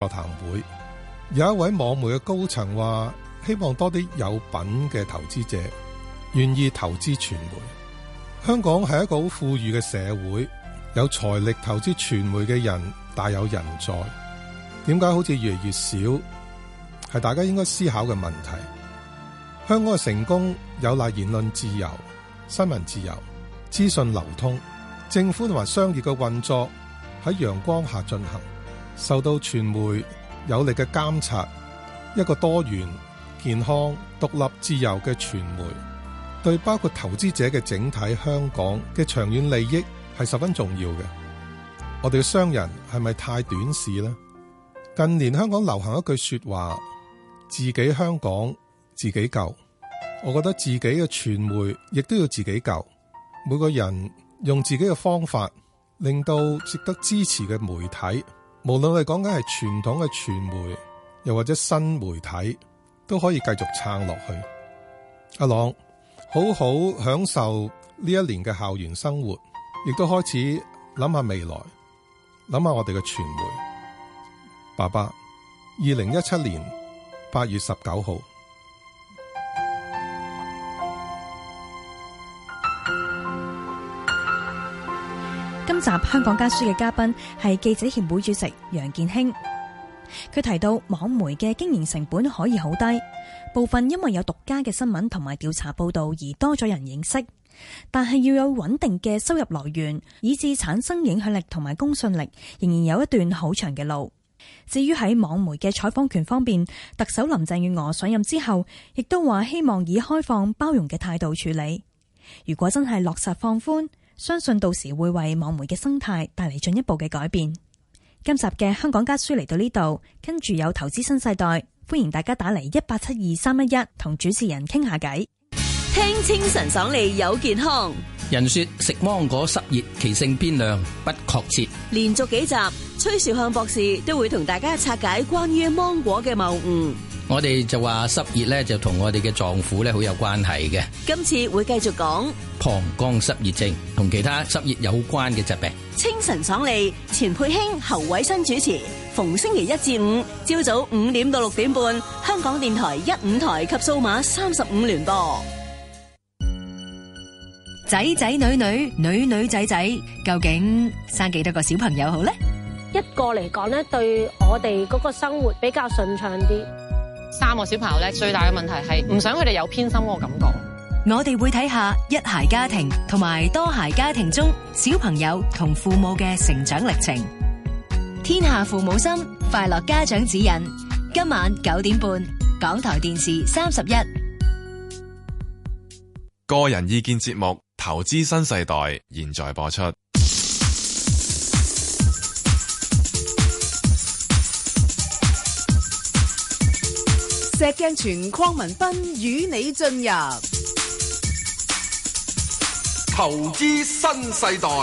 座談會，有一位網媒嘅高層話，希望多啲有品嘅投資者願意投資傳媒。香港係一個好富裕嘅社會，有財力投資傳媒嘅人大有人在。點解好似越嚟越少？係大家應該思考嘅問題。香港嘅成功有賴言論自由、新聞自由、資訊流通，政府同埋商業嘅運作喺陽光下進行，受到傳媒有力嘅監察。一個多元、健康、獨立、自由嘅傳媒，對包括投資者嘅整體香港嘅長遠利益係十分重要嘅。我哋嘅商人係咪太短視呢？近年香港流行一句說話，自己香港自己救。我覺得自己嘅傳媒亦都要自己救。每個人用自己嘅方法，令到值得支持嘅媒體，無論我哋講緊係傳統嘅傳媒，又或者新媒體，都可以繼續撐落去。阿朗，好好享受呢一年嘅校園生活，亦都開始諗下未來，諗下我哋嘅傳媒。爸爸，2017年8月19號。 今集香港家書嘅嘉賓係記者協會主席楊健興。佢提到網媒嘅經營成本可以好低，部分因為有獨家嘅新聞同埋調查報道而多咗人認識，但係要有穩定嘅收入來源，以致產生影響力同埋公信力，仍然有一段好長嘅路。至於喺網媒嘅採訪權方面，特首林鄭月娥上任之後，亦都話希望以開放包容嘅態度處理。如果真係落實放寬，相信到時會為網媒嘅生態帶嚟進一步嘅改變。今集嘅香港家書嚟到呢度，跟住有投資新世代，歡迎大家打嚟1872311同主持人傾下偈。 聽清晨爽利有健康。 人說食芒果濕熱，其性邊涼，不確切。 連續幾集，崔兆漢博士都會同大家拆解關於芒果嘅謬誤。 我哋就話濕熱咧，就同我哋嘅臟腑咧好有關係嘅。 今次會繼續講膀胱濕熱症同其他濕熱有關嘅疾病。 清晨爽利，錢佩興、侯偉新主持，逢星期1至5朝早5點到6點半，香港電台15台及數碼35聯播。 仔仔女女，女女仔仔，究竟生幾多個小朋友好呢？ 一個嚟講咧，對我哋嗰個生活比較順暢啲。 3個小朋友咧，最大嘅問題係唔想佢哋有偏心嗰個感覺。 我哋會睇下一孩家庭同埋多孩家庭中小朋友同父母嘅成長歷程。天下父母心，快樂家長指引。今晚9點半，港台電視31。 個人意見節目《投資新世代》現在播出。 石鏡泉鄺民彬與你進入投資新世代。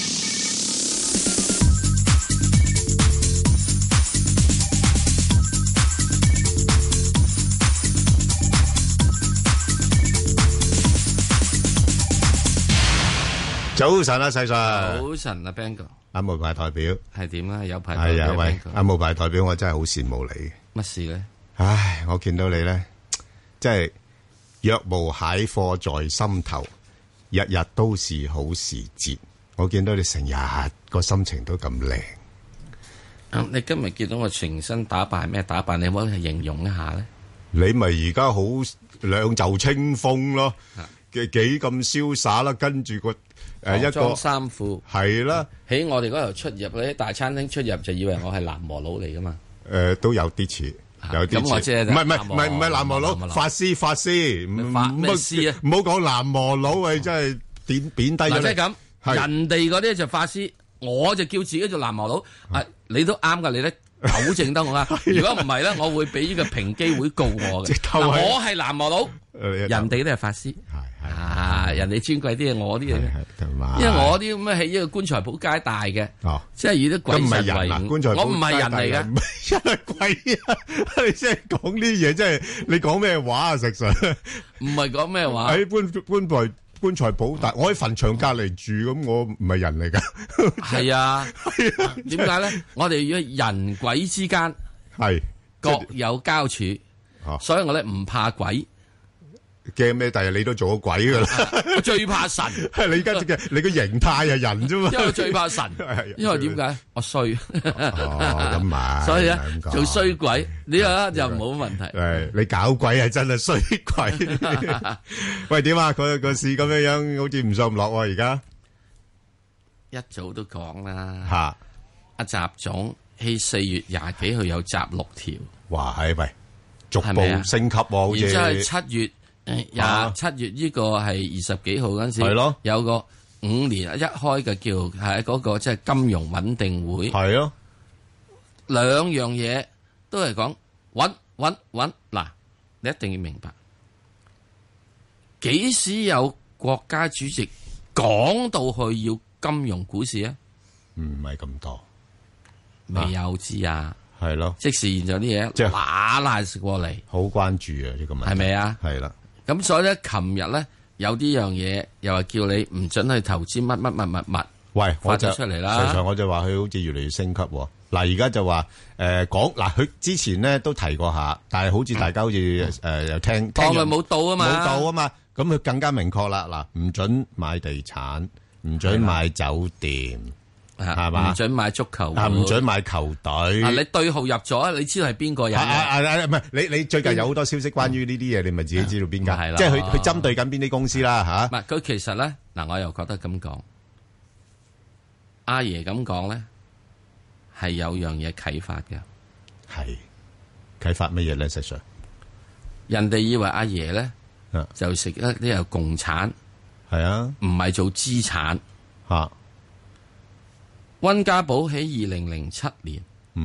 早晨啊，細 Sir。 早晨啊 ，Bang 哥。 阿無牌代表係點啊？有牌代表。 係啊，喂，阿無牌代表，我真係好羨慕你。 乜事咧？ 唉，我見到你咧，即係若無蟹貨在心頭，日日都是好時節。我見到你成日個心情都咁靚。 你今日見到我全身打扮咩打扮？你可唔可以形容一下咧？ 你咪而家好兩袖清風咯，幾咁瀟灑啦，跟住個一個衫褲係啦。 喺我哋嗰度出入嗰啲大餐廳出入，就以為我係南無佬嚟噶嘛。 都有啲似。有啲似，唔係南無佬，法師， 咩師啊？ 唔好講南無佬，喂，真係貶低咗。 即係咁，人哋嗰啲就法師，我就叫自己做南無佬。你都啱噶，你咧糾正得我啦。如果唔係咧，我會俾呢個平機會告我嘅。我係南無佬，人哋都係法師。人哋尊貴啲嘢，我啲嘢，因為我啲咁嘅喺呢個棺材鋪街大嘅，即係以啲鬼神為伍。我唔係人嚟嘅， 因為鬼啊！你即係講啲嘢，即係你講咩話啊？實上唔係講咩話。 喺棺材鋪大，我喺墳場隔籬住，咁我唔係人嚟噶。 係啊，點解咧？我哋要人鬼之間係各有交處，所以我咧唔怕鬼。 驚咩？第日你都做咗鬼噶啦！ 我最怕神。 你而家你個形態係人啫嘛。 因為我最怕神，因為點解？我衰。 咁咪。 所以咧做衰鬼呢個就冇問題。 係你搞鬼係真係衰鬼。喂，點啊？個市咁樣好似唔上唔落喎，而家。 一早都講啦。 吓。 阿習總喺4月20幾號有集6條。 哇！係喂，逐步升級喎，好似。 然之後7月。7月呢個係20幾號嗰陣時，係咯，有個5年一開嘅叫係嗰個即係金融穩定會， 係咯， 兩樣嘢都係講穩。嗱，你一定要明白，幾時有國家主席講到去要金融股市啊？ 唔係咁多， 未有知啊？ 係咯， 即時現咗啲嘢，即係揦食過嚟， 好關注啊！呢個問題係咪啊？ 係啦。 咁所以咧，琴日咧有啲樣嘢，又話叫你唔准去投資乜。 喂， 發咗出嚟啦。 實際我就話佢好似越嚟越升級。嗱，而家就話講嗱，佢之前咧都提過下，但係好似大家好似又聽當佢冇到啊嘛， 冇到啊嘛。咁佢更加明確啦。嗱，唔准買地產，唔准買酒店。係嘛？ 唔准買足球， 唔准買球隊。 你對號入咗，你知道係邊個人？ 唔係你最近有好多消息關於呢啲嘢，你咪自己知道邊間？即係佢針對緊邊啲公司啦吓。 唔係佢其實咧，嗱我又覺得咁講，阿爺咁講咧係有樣嘢啟發嘅。 係啟發乜嘢咧？實上， 人哋以為阿爺咧就食一啲有共產， 係啊， 唔係做資產吓。 溫家寶喺2007年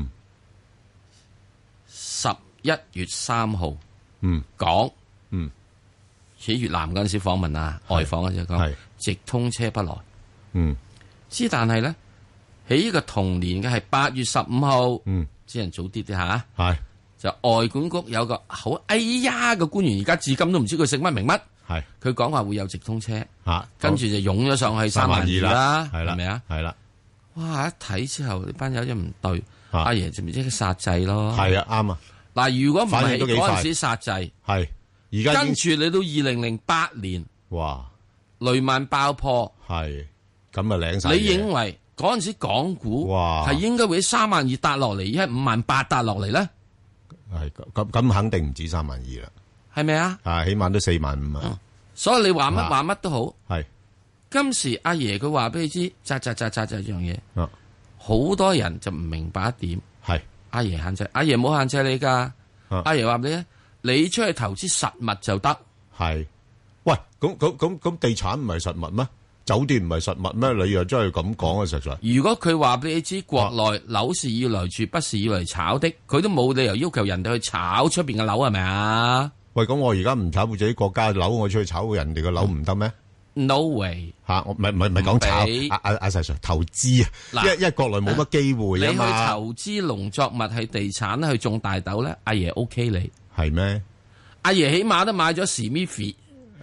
11月3號講，喺越南嗰陣時訪問啊，外訪嗰陣講直通車不來，之但係咧喺呢個同年嘅係8月15號，只人早啲吓，係就外管局有個好哎呀嘅官員，而家至今都唔知佢姓乜名乜，係佢講話會有直通車，跟住就湧咗上去32000啦，係咪啊？係啦。哇！一睇之後，呢班友真唔對，阿爺就咪即係殺制咯。係啊，啱啊。嗱，如果唔係嗰陣時殺制，係而家跟住你到2008年，哇，雷曼爆破，係咁啊領晒。你認為嗰陣時港股哇係應該會32000跌落嚟，而係58000跌落嚟咧？ 係咁肯定唔止32000啦， 係咪啊？ 啊，起碼都45000啊。 所以你話乜都好， 係。今時阿爺佢話俾你知，扎一樣嘢，好多人就唔明白一點。係阿爺限制，阿爺冇限制你噶。阿爺話俾你，你出去投資實物就得。係，喂，咁地產唔係實物咩？酒店唔係實物咩？你又真係咁講啊？實在。如果佢話俾你知，國內樓是要來住，不是要嚟炒的，佢都冇理由要求人哋去炒出邊嘅樓，係咪啊？喂，咁我而家唔炒自己國家嘅樓，我出去炒人哋嘅樓唔得咩？No way 吓，我唔係講炒阿石 Sir 投資啊，因為國內冇乜機會啊嘛。你去投資農作物係地產去種大豆咧，阿爺 OK 你係咩？阿爺起碼都買咗史密夫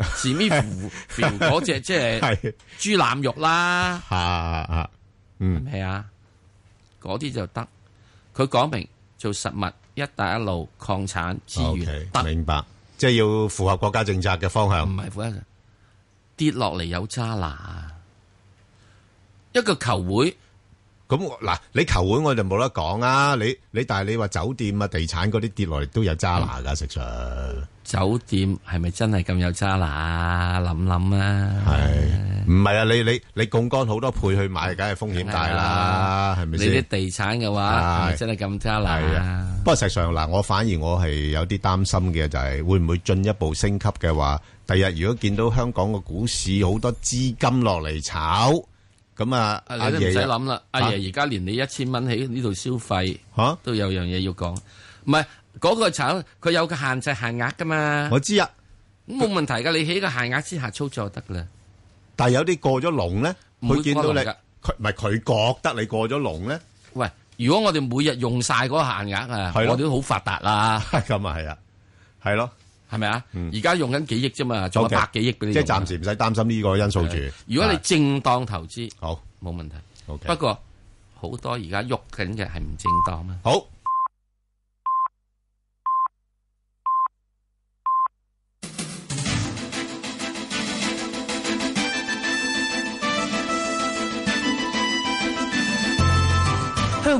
嗰隻即係豬腩肉啦，係啊，嗰啲就得。佢講明做實物，一帶一路礦產資源得，明白，即係要符合國家政策嘅方向，唔係符合。跌落嚟有渣拿，一個球會咁嗱，你球會我就冇得講啊！你但係你話酒店啊、地產嗰啲跌落嚟都有渣拿噶，實上酒店係咪真係咁有渣拿？諗諗啊，係唔係啊？你槓桿好多倍去買，梗係風險大啦，係咪先？你啲地產嘅話，係咪真係咁渣拿？不過實上嗱，我反而我係有啲擔心嘅，就係會唔會進一步升級嘅話？第日如果見到香港個股市好多資金落嚟炒，咁啊，你都唔使諗啦。阿爺而家連你1000蚊喺呢度消費，都有樣嘢要講。唔係嗰個炒，佢有個限制限額噶嘛。我知啊，咁冇問題噶。你喺個限額之下操作就得噶啦。但係有啲過咗龍咧，佢見到你，佢唔係佢覺得你過咗龍咧。喂，如果我哋每日用晒嗰個限額啊，我哋都好發達啦。咁啊係啊，係咯。係咪啊？而家用緊幾億啫嘛，仲有100幾億俾你。即係暫時唔使擔心呢個因素住。如果你正當投資，好冇問題。不過好多而家喐緊嘅係唔正當啊。好。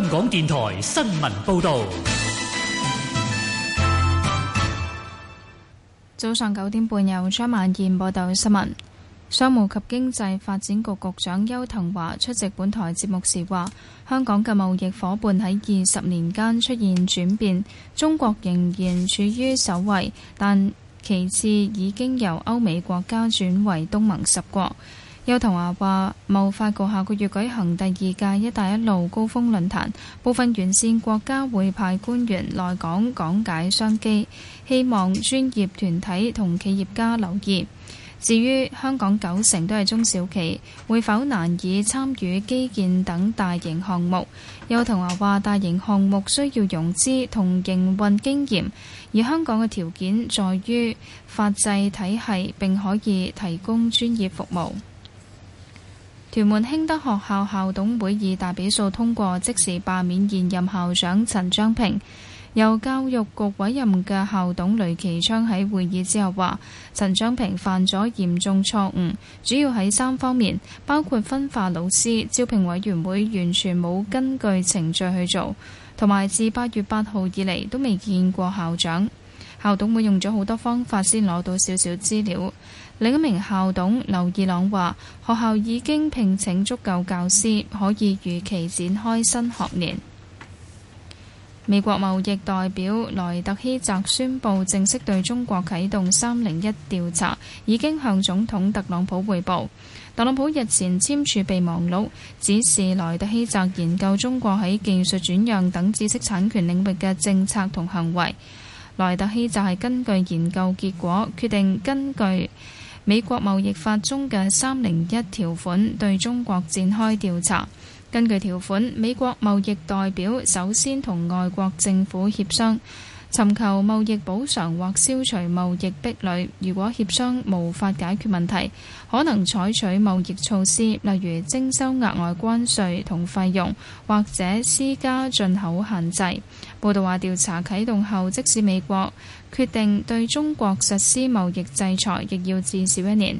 港電台新聞報道。 早上9點半，由張萬燕報道新聞。商務及經濟發展局局長邱騰華出席本台節目時話，香港嘅貿易夥伴喺20年間出現轉變，中國仍然處於首位，但其次已經由歐美國家轉為東盟10國。邱騰華話，貿發局下個月舉行第2屆一帶一路高峰論壇，部分沿線國家會派官員來港講解商機，希望專業團體同企業家留意。至於香港90%都係中小企，會否難以參與基建等大型項目？邱騰華話，大型項目需要融資同營運經驗，而香港嘅條件在於法制體系並可以提供專業服務。屯門興德學校校董會以大比數通過即時罷免現任校長陳章平。由教育局委任嘅校董雷其昌喺會議之後話，陳章平犯咗嚴重錯誤，主要喺3方面，包括分化老師、招聘委員會完全冇根據程序去做，同埋自8月8號以嚟都未見過校長。校董會用咗好多方法先攞到少少資料。另一名校董劉義朗話，學校已經聘請足夠教師，可以如期展開新學年。美國貿易代表萊特希澤宣布正式對中國啟動301調查，已經向總統特朗普匯報。特朗普日前簽署備忘錄，指示萊特希澤研究中國喺技術轉讓等知識產權領域嘅政策同行為。萊特希澤係根據研究結果，決定根據美國貿易法中嘅301條款對中國展開調查。根據條款，美國貿易代表首先同外國政府協商，尋求貿易補償或消除貿易壁壘。如果協商無法解決問題，可能採取貿易措施，例如徵收額外關稅同費用，或者施加進口限制。報道話，調查啟動後，即使美國決定對中國實施貿易制裁，亦要至少1年。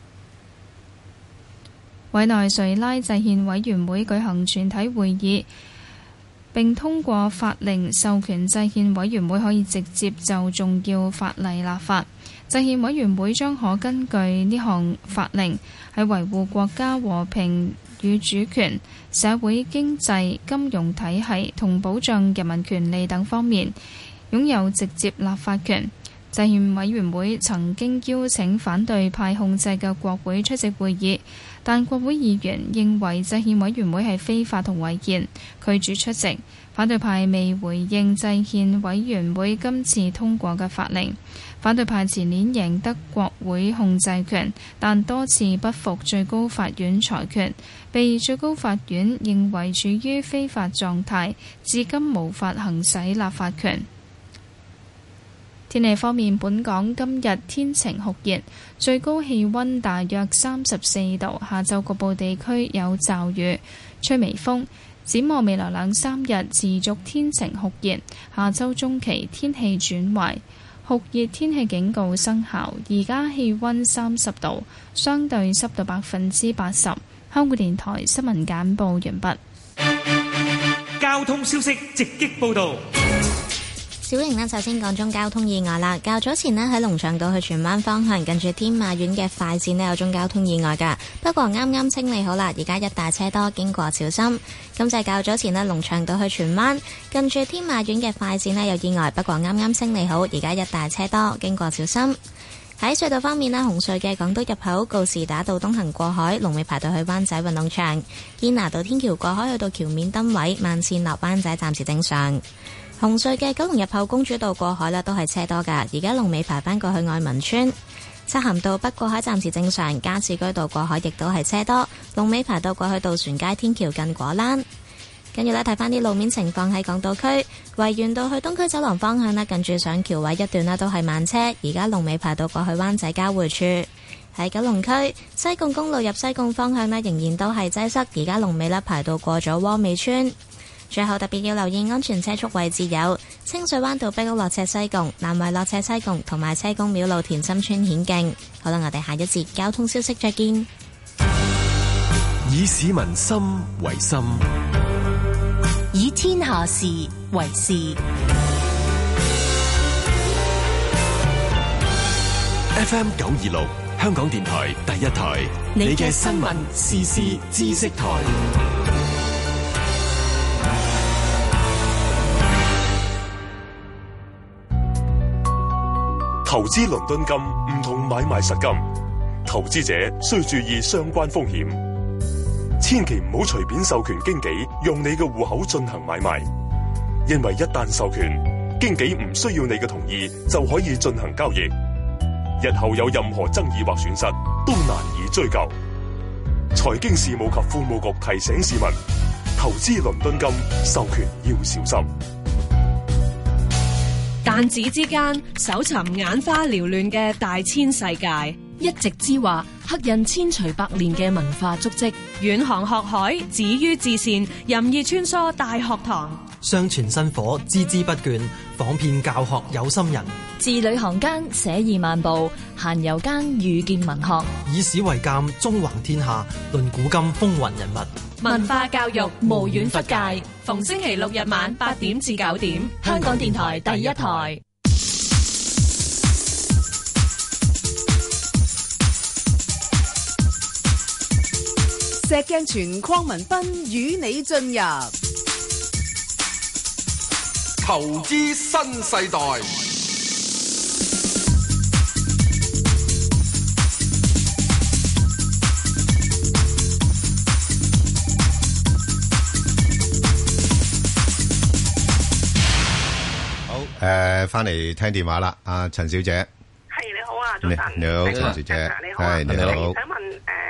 委內瑞拉制憲委員會舉行全體會議，並通過法令授權制憲委員會可以直接就重要法例立法。制憲委員會將可根據呢項法令喺維護國家和平與主權、社會經濟、金融體系同保障人民權利等方面擁有直接立法權。制憲委員會曾經邀請反對派控制嘅國會出席會議，但國會議員認為制憲委員會係非法同違憲，拒絕出席。反對派未回應制憲委員會今次通過嘅法令。反對派前年贏得國會控制權，但多次不服最高法院裁決，被最高法院認為處於非法狀態，至今無法行使立法權。天氣方面，本港今日天晴酷熱，最高氣溫大約34度，下晝局部地區有驟雨，吹微風。展望未來2-3日持續天晴酷熱，下週中期天氣轉壞，酷熱天氣警告生效。而家氣溫30度，相對濕度80%。香港電台新聞簡報完畢。 交通消息直擊報道。 小瑩呢，首先講中交通意外啦。較早前呢，喺龍翔道去荃灣方向，近住天馬苑嘅快線呢，有宗交通意外噶，不過啱啱清理好啦，而家一大車多，經過小心。咁就係較早前呢，龍翔道去荃灣，近住天馬苑嘅快線呢，有意外，不過啱啱清理好，而家一大車多，經過小心。喺隧道方面呢，紅隧嘅港島入口告士打道東行過海，龍尾排到去灣仔運動場；堅拿道天橋過海去到橋面燈位，慢線落灣仔暫時正常。紅隧嘅九龍入口公主道過海啦，都係車多噶，而家龍尾排返過去愛民村。漆咸道北過海暫時正常，加士居道過海亦都係車多，龍尾排到過去渡船街天橋近果欄。跟住呢，睇翻啲路面情況喺港島區，維園道去東區走廊方向呢，近住上橋位一段呢都係慢車，而家龍尾排到過去灣仔交匯處。喺九龍區西貢公路入西貢方向呢，仍然都係擠塞，而家龍尾呢排到過咗窩美村。最後特別要留意安全車速位置有清水灣道碧屋落斜西貢、南圍落斜西貢同埋車公廟路田心村顯徑。好啦，我哋下一節交通消息再見。 以市民心為心， 以天下事為事。 FM 926香港電台第一台，你嘅新聞時事知識台。 投資倫敦金唔同買賣實金，投資者需注意相關風險，千祈唔好隨便授權經紀用你嘅戶口進行買賣，因為一旦授權，經紀唔需要你嘅同意就可以進行交易，日後有任何爭議或損失都難以追究。財經事務及庫務局提醒市民，投資倫敦金授權要小心。 彈指之間，搜尋眼花繚亂嘅大千世界， 一席之話，刻印千錘百煉嘅文化足跡， 遠航學海，止於至善，任意穿梭大學堂， 相傳薪火，孜孜不倦，訪遍教學有心人。 字裏行間寫意漫步，閒遊間遇見文學， 以史為鑑，縱橫天下，論古今風雲人物。 文化教育無遠弗屆，逢星期六日晚8點至9點，香港電台第一台。 石鏡泉鄺民彬與你進入投資新世代。 翻嚟聽電話啦，阿陳小姐。 係，你好啊，早晨。 你好，陳小姐。 你好啊， 你好。 想問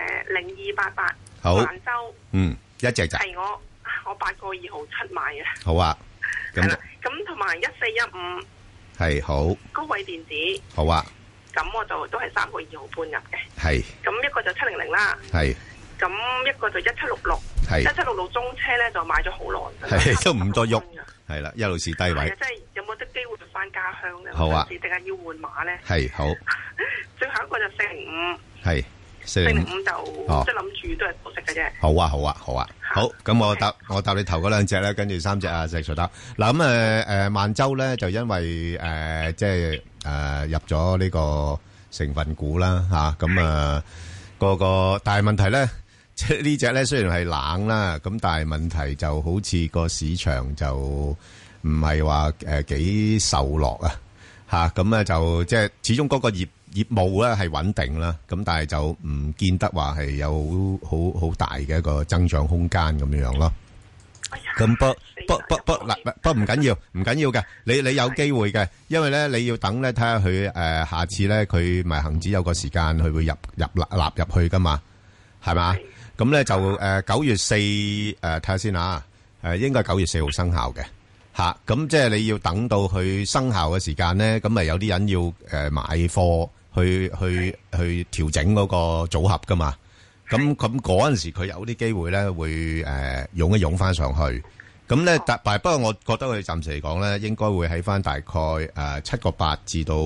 0288 好， 環州， 一隻就係我8個2毫7買嘅。 好啊， 係啦，咁同埋1415 係好。 高偉電子好啊， 咁我就都係3個2毫半入嘅。 係。 咁一個就700啦。 係。 咁一個就1766。 係。 1766中車咧就買咗好耐。 係都唔多喐。係啦，一路是低位。 即係有冇得機會翻家鄉咧？ 好啊。 定係要換馬咧？ 係好。 最後一個就405。 係。 405就即係諗住都係保息嘅啫。 好啊，好啊，好啊。好，咁我答你頭嗰兩隻咧，跟住3隻啊，石 Sir 答。嗱咁萬洲咧就因為即係入咗呢個成分股啦嚇，咁個但係問題咧，即係呢隻咧雖然係冷啦，咁但係問題就好似個市場就唔係話幾受落啊嚇，咁咧就即係始終嗰個業務咧係穩定啦，咁但係就唔見得話係有好大嘅一個增長空間咁樣咯。咁不唔緊要嘅，你有機會嘅，因為咧你要等咧睇下佢下次咧佢咪恒指有個時間佢會納入去噶嘛，係嘛？咁咧就9月4睇下先啊，應該9月4號生效嘅。吓，咁即係你要等到佢生效嘅時間咧，咁咪有啲人要買貨去調整嗰個組合噶嘛。咁嗰陣時佢有啲機會咧會湧一湧翻上去。咁咧不過我覺得佢暫時嚟講咧，應該會喺翻大概7個8至到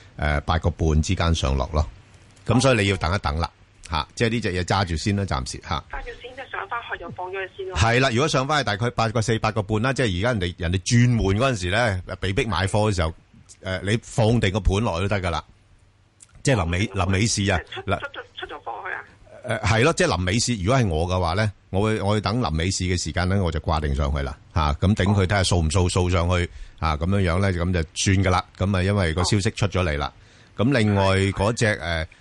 8個半之間上落咯。咁所以你要等一等啦，吓，即係呢隻嘢揸住先啦，暫時吓。揸住先，即係上翻去就放咗佢先咯。係啦，如果上翻去大概8個4、8個半啦，即係而家人哋轉換嗰陣時咧，被逼買貨嘅時候，你放定個盤落去都得噶啦。即係臨尾市啊， 出咗貨去啊。 係咯，即係臨尾市。如果係我嘅話咧，我會等臨尾市嘅時間咧，我就掛定上去啦，吓，咁頂佢睇下掃唔掃上去啊，咁樣樣咧，咁就算噶啦。咁啊，因為個消息出咗嚟啦。咁另外嗰隻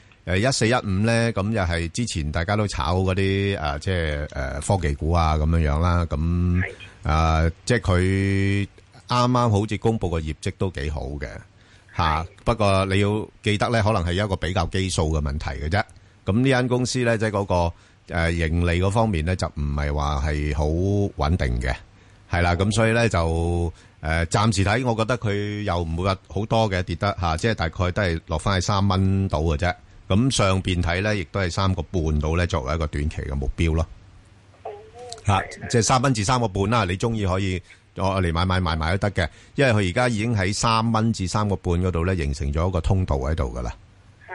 1415咧，咁又係之前大家都炒嗰啲即係科技股啊咁樣樣啦。咁即係佢啱啱好似公布個業績都幾好嘅吓。不過你要記得咧，可能係一個比較基數嘅問題嘅啫。咁呢間公司咧，即係嗰個盈利嗰方面咧，就唔係話係好穩定嘅，係啦。咁所以咧就暫時睇，我覺得佢又唔會話好多嘅跌得吓，即係大概都係落翻去3蚊到嘅啫。咁上邊睇咧，亦都係3個半到咧，作為一個短期嘅目標咯。吓，即係3蚊至3個半啦。你中意可以我嚟買都得嘅，因為佢而家已經喺3蚊至3個半嗰度咧，形成咗一個通道喺度噶啦。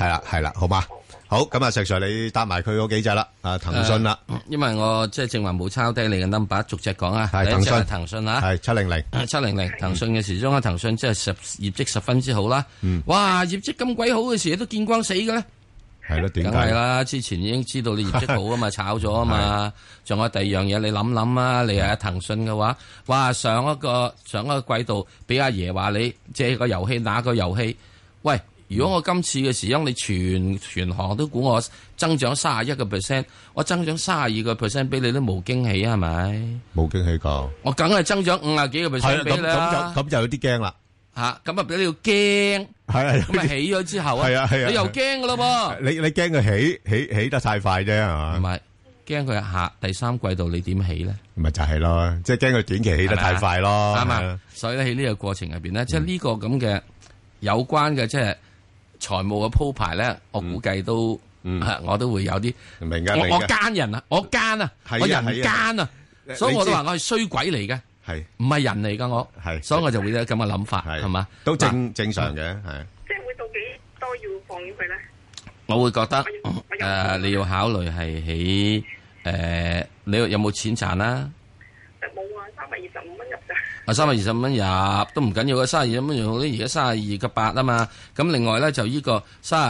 係啦，好嘛？好，咁啊，石 Sir 你答埋佢嗰幾隻啦，騰訊啦， 因為我即係正話冇抄低你嘅 number， 逐隻講啊。 係騰訊， 騰訊啊， 係700， 騰訊嘅時鐘啊，騰訊即係業績十分之好啦。哇，業績咁鬼好嘅時都見光死嘅咧。 係咯，點解？ 梗係啦，之前已經知道你業績好啊嘛，炒咗啊嘛。仲有第二樣嘢，你諗諗啊，你係騰訊嘅話，哇，上一個季度俾阿爺話你借個遊戲打個遊戲，喂。如果我今次嘅時鐘，你全行都估我增長31%，我增長32%俾你都冇驚喜啊，係咪？ 冇驚喜㗎。我梗係增長50幾個%俾你啦。 咁就有啲驚啦。 咁啊俾你要驚。係咁啊起咗之後啊，你又驚㗎咯噃。 你驚佢起得太快啫，係嘛？ 唔係，驚佢第三季度你點起咧？ 咪就係咯，即係驚佢短期起得太快咯。 啱啊。所以咧喺呢個過程入邊咧，即係呢個咁嘅有關嘅即係。財務嘅鋪排咧，我估計都，我都會有啲明嘅。 我奸人啊，我奸啊，我人奸啊，所以我都話我係衰鬼嚟嘅，係唔係人嚟噶我，係，所以我就會有咁嘅諗法，係嘛， 都正常嘅，係。 即係會到幾多要放咗佢咧？ 我會覺得你要考慮係喺你有冇錢賺啦？ 冇啊，325蚊入咋。 325蚊入都唔緊要嘅，32蚊用啲而家32.8啊嘛。咁另外咧就呢個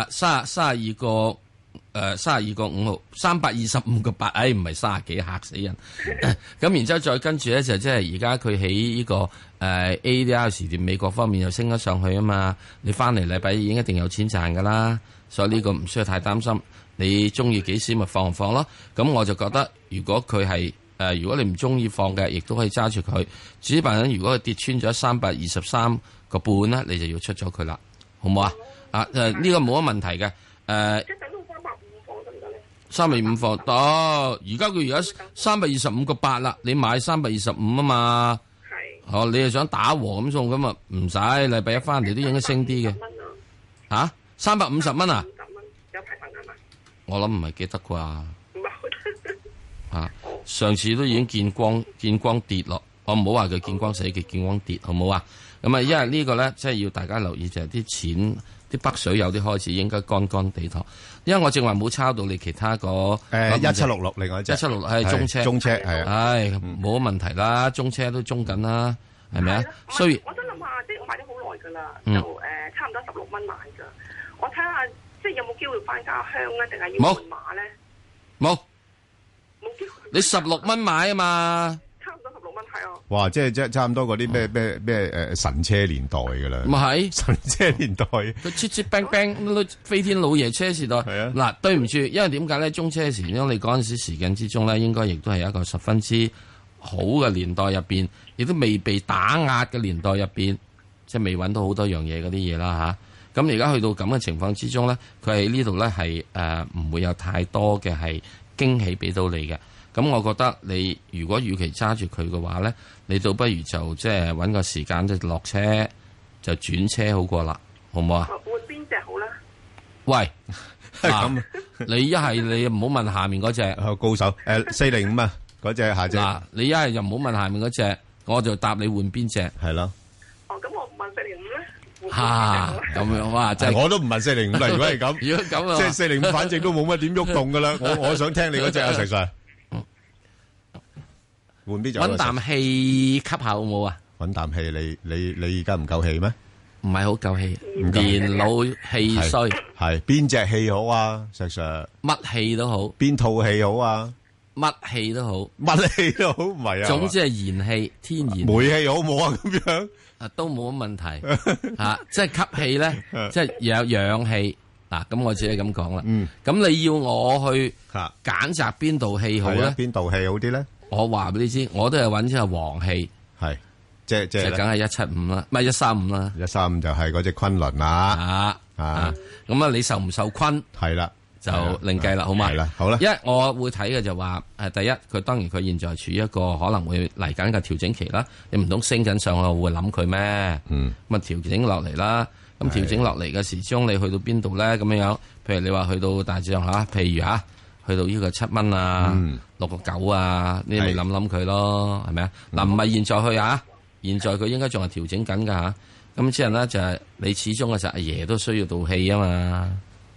32個32個5毫325個8，唔係30幾，嚇死人。咁然之後再跟住咧就即係而家佢喺呢個ADR 時段美國方面又升咗上去啊嘛。你翻嚟禮拜已經一定有錢賺噶啦，所以呢個唔需要太擔心。你中意幾時咪放咯。咁我就覺得如果佢係如果你唔中意放嘅，亦都可以揸住佢。至於辦緊，如果佢跌穿咗323個半咧，你就要出咗佢啦，好唔好啊？呢個冇乜問題嘅。 即係等到325放得唔得咧 ？325放得，而家佢而家325個8啦，你買325啊嘛。係。你係想打和咁送咁啊？唔使，禮拜一翻嚟都應該升啲嘅。350蚊啊？ 有排份係嘛？ 我諗唔係記得啩。上次都已經見光跌落，我唔好話佢見光死，佢見光跌，好唔好啊？咁啊，因為呢個咧，即係要大家留意就係啲錢，啲北水有啲開始應該乾地堂。因為我正話冇抄到你其他個 1766，另外一隻 1766係中車係啊，冇乜問題啦，中車都中緊啦，係咪啊？ 所以我想諗下，即係我買咗好耐噶啦，就差唔多16蚊買噶，我睇下即係有冇機會翻家鄉咧，定係要換馬咧？ 冇。你16蚊買啊嘛， 差唔多16蚊係啊。 哇，即係差唔多嗰啲咩神車年代噶啦。 咪係神車年代， 佢切切冰冰飛天老爺車時代。係啊。嗱，對唔住，因為點解咧？中車時因為你嗰陣時間之中咧，應該亦都係一個十分之好嘅年代入邊，亦都未被打壓嘅年代入邊，即係未揾到好多樣嘢嗰啲嘢啦吓。咁而家去到咁嘅情況之中咧，佢喺呢度咧係唔會有太多嘅係驚喜俾到你嘅。咁我覺得你如果與其揸住佢嘅話咧，你倒不如就即係揾個時間即係落車就轉車好過啦，好唔好啊？ 換邊隻好咧？ 喂，咁你一係你唔好問下面嗰隻高手405啊，嗰隻下隻。 嗱，你一係就唔好問下面嗰隻，我就答你換邊隻。 係咯。 咁我唔問405咧。 咁樣哇，真係我都唔問405啦。如果係咁， 如果咁即係405，反正都冇乜點喐動噶啦。我想聽你嗰隻啊，石 Sir。換邊就搵啖氣吸下好冇啊？ 搵啖氣，你而家唔夠氣咩？ 唔係好夠氣，年老氣衰。 係邊隻氣好啊？石 Sir， 乜氣都好， 邊套氣好啊？ 乜氣都好， 乜氣都好，唔係啊？ 總之係燃氣，天然煤氣好唔好啊？咁樣都冇乜問題吓，即係吸氣咧，即係有氧氣嗱。咁我只係咁講啦。咁你要我去揀擇邊度氣好咧？ 邊度氣好啲咧？ 我話俾你知，我都係揾隻黃氣， 係即係梗係175啦，唔係135啦。 135就係嗰隻昆侖啦。 咁啊，你受唔受昆？ 係啦， 就另計啦，好嘛？ 係啦，好啦。 因為我會睇嘅就話，第一，佢當然佢現在處於一個可能會嚟緊嘅調整期啦。你唔通升緊上去，我會諗佢咩？咁啊調整落嚟啦。咁調整落嚟嘅時鐘，你去到邊度咧？咁樣，譬如你話去到大致上譬如去到呢個7蚊啊，6個9啊，你咪諗諗佢咯，係咪啊？嗱，唔係現在去啊，現在佢應該仲係調整緊噶吓。咁之後咧就係你始終嘅時候，阿爺都需要道氣啊嘛，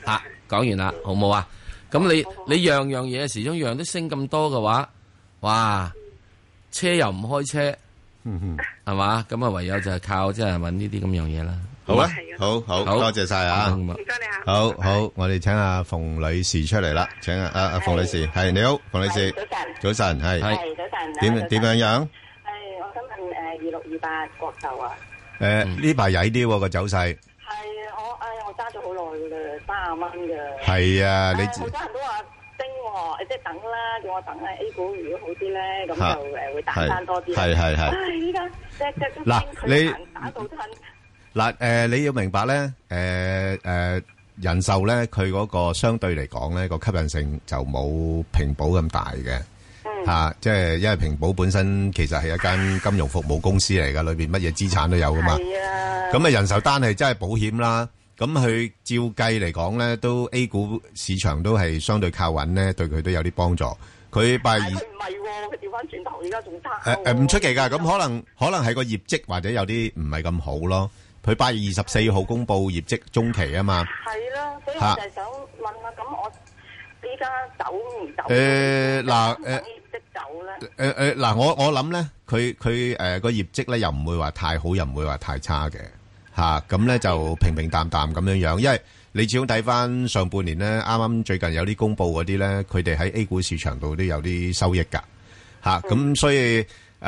講完啦，好冇啊？咁你樣樣嘢始終樣都升咁多嘅話，哇！車又唔開車，係嘛？咁啊，唯有就係靠即係揾呢啲咁樣嘢啦。 好啊，好多謝晒啊！唔該你啊！ 好，我哋請阿馮女士出嚟啦，請阿馮女士，係你好，馮女士，早晨，係早晨， 點樣樣？ 我想問2628國壽啊。 呢排曳啲個走勢。 我揸咗好耐噶啦，30蚊噶。 係啊，你好多人都話升喎，即係等啦，叫我等啦。A 股如果好啲咧，咁就會彈翻多啲。係。依家隻都升，佢打到吞。 嗱，你要明白咧，人壽咧，佢嗰個相對嚟講咧，個吸引性就冇平保咁大嘅。即係因為平保本身其實係一間金融服務公司嚟噶，裏邊乜嘢資產都有噶嘛。咁人壽單係真係保險啦。咁佢照計嚟講咧，都 A 股市場都係相對靠穩咧，對佢都有啲幫助。佢8月佢唔係喎，佢調翻轉頭，而家仲差。 唔出奇㗎，咁可能係個業績或者有啲唔係咁好咯。佢8月24號公佈業績中期啊嘛。係啦，所以我就係想問下，咁我依家走唔走？業績走咧？我諗咧，佢個業績咧又唔會話太好，又唔會話太差嘅。咁咧就平平淡淡咁樣樣，因為你始終睇翻上半年咧，啱啱最近有啲公佈嗰啲咧，佢哋喺 A 股市場度都有啲收益㗎，咁所以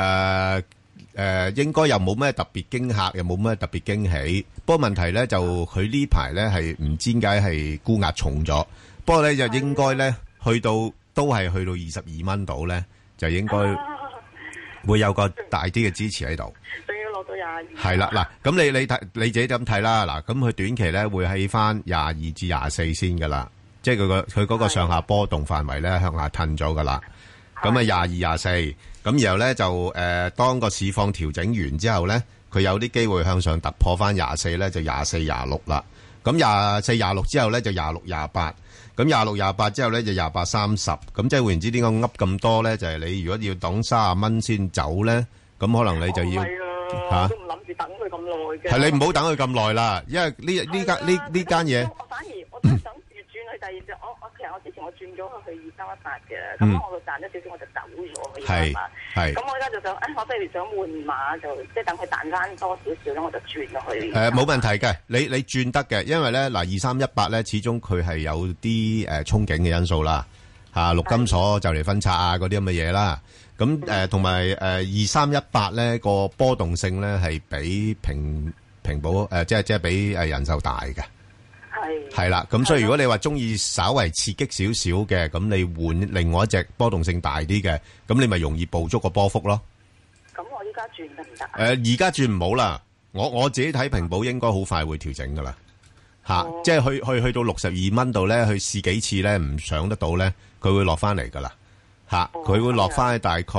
應該又冇咩特別驚嚇，又冇咩特別驚喜。不過問題咧就佢呢排咧係唔知點解係沽壓重咗，不過咧就應該咧都係去到22蚊度咧，就應該會有個大啲嘅支持喺度。係啦，嗱，咁你自己咁睇啦，嗱，咁佢短期咧會喺翻22至24先噶啦，即係佢嗰個上下波動範圍咧向下褪咗噶啦，咁啊22、24，咁然後咧就當個市況調整完之後咧，佢有啲機會向上突破翻24咧，就24、26啦，咁24、26之後咧就26、28，咁26、28之後咧就28、30，咁即係換言之，點解噏咁多咧？就係你如果要等30蚊先走咧，咁可能你就要都唔諗住等佢咁耐嘅。 係你唔好等佢咁耐啦，因為呢間嘢。 我真係想越轉去第二隻，其實我之前我轉咗去2318嘅，咁我就賺咗少少，我就走咗。係。咁我而家就想，我不如想換馬，就即係等佢彈翻多少少咧，我就轉落去。 冇問題嘅，你轉得嘅，因為咧2318咧，始終佢係有啲憧憬嘅因素啦，陸金所就嚟分拆啊嗰啲咁嘅嘢啦。咁同埋2318咧個波動性咧係比平保即係比人壽大嘅，係啦。咁所以如果你話中意稍為刺激少少嘅，咁你換另外一隻波動性大啲嘅，咁你咪容易捕捉個波幅咯。 咁我依家轉得唔得？ 而家轉唔好啦，我自己睇平保應該好快會調整噶啦，即係去到62蚊度咧，去試幾次咧唔上得到咧，佢會落翻嚟噶啦。佢會落翻去大概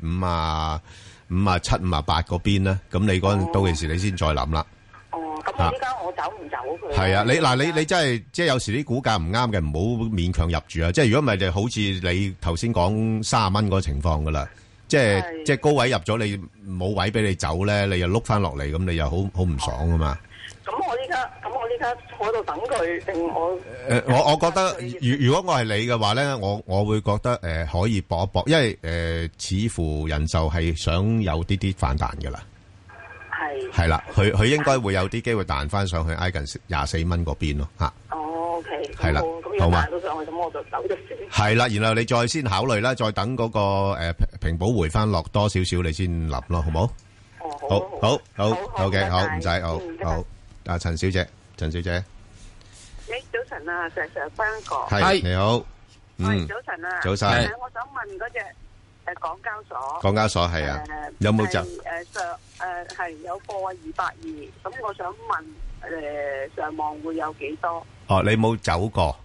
57、58嗰邊咧，咁你嗰陣到其時你先再諗啦。 咁我依家我走唔走佢？ 係啊，你真係即係有時啲股價唔啱嘅，唔好勉強入住啊！即係如果唔係，就好似你頭先講30蚊嗰個情況噶啦，即係高位入咗，你冇位俾你走咧，你又碌翻落嚟，咁你又好唔爽噶嘛。咁我依家坐喺度等佢定我？ 我覺得如果我係你嘅話咧，我會覺得可以搏一搏，因為似乎人壽係想有啲反彈噶啦。係啦，佢應該會有啲機會彈翻上去挨近24蚊嗰邊咯嚇。 OK。 係啦，好嘛？ 彈到上去咁我就走咗先。 係啦，然後你再先考慮啦，再等嗰個平保回翻落多少少，你先諗咯，好冇？好嘅，好唔使，好。陳小姐。早晨啊，石 Sir 彬哥。 係你好。 早晨啊。 早晨。 我想問嗰隻港交所。 港交所係啊，有冇走？ 係有貨220，咁我想問上望會有幾多？ 你冇走過？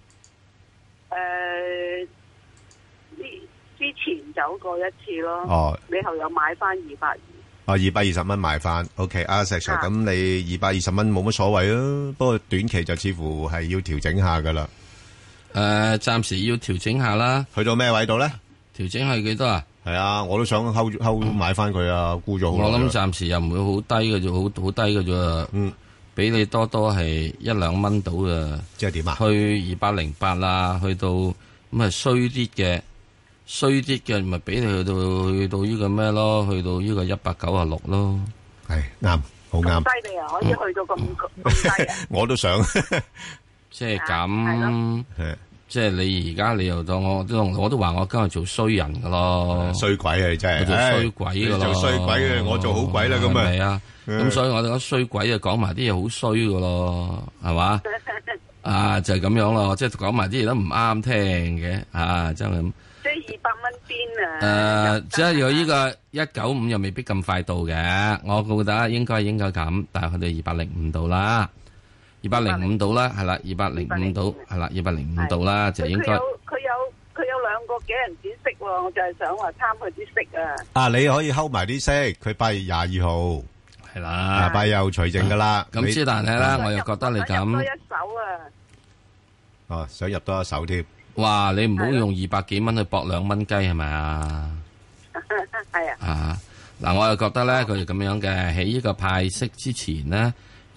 之前走過一次咯。你後有買翻220。 220蚊買翻 ，OK， 石 Sir，咁你220蚊冇乜所謂啊，不過短期就似乎係要調整下噶啦。 暫時要調整下啦。 去到咩位度咧？ 調整係幾多啊？ 係啊，我都想睺買翻佢啊，沽咗好耐。 我諗暫時又唔會好低嘅啫，好低嘅啫。 俾你多係1-2蚊到嘅， 即係點啊？ 去208啦，去到咁啊衰啲嘅，咪俾你去到呢個咩咯？去到呢個196咯。 係啱，好啱。 犀利啊！可以去到咁低啊！ 我都想， 即係咁。即係你而家你又當我都話我今日做衰人噶咯， 衰鬼啊！你真係我做衰鬼噶咯， 做衰鬼嘅，我做好鬼啦咁啊！ 係啊，咁所以我哋講衰鬼就講埋啲嘢好衰噶咯，係嘛？啊，就係咁樣咯，即係講埋啲嘢都唔啱聽嘅，啊，真係咁。 即係200蚊邊啊？ 即係有呢個195又未必咁快到嘅，我覺得應該咁，但係去到205度啦。205度啦，係啦，205度，係啦，205度啦，就應該。 佢有2個幾人展息喎，我就係想話參佢啲息啊。 啊，你可以睺埋啲息，佢8月22號係啦 ，8月又除淨噶啦。 咁之但係咧，我又覺得你咁。 多一手啊！ 哦，想入多一手添。 哇！你唔好用200幾蚊去搏2蚊雞係咪啊？ 係啊。 啊，嗱，我又覺得咧，佢就咁樣嘅，喺呢個派息之前咧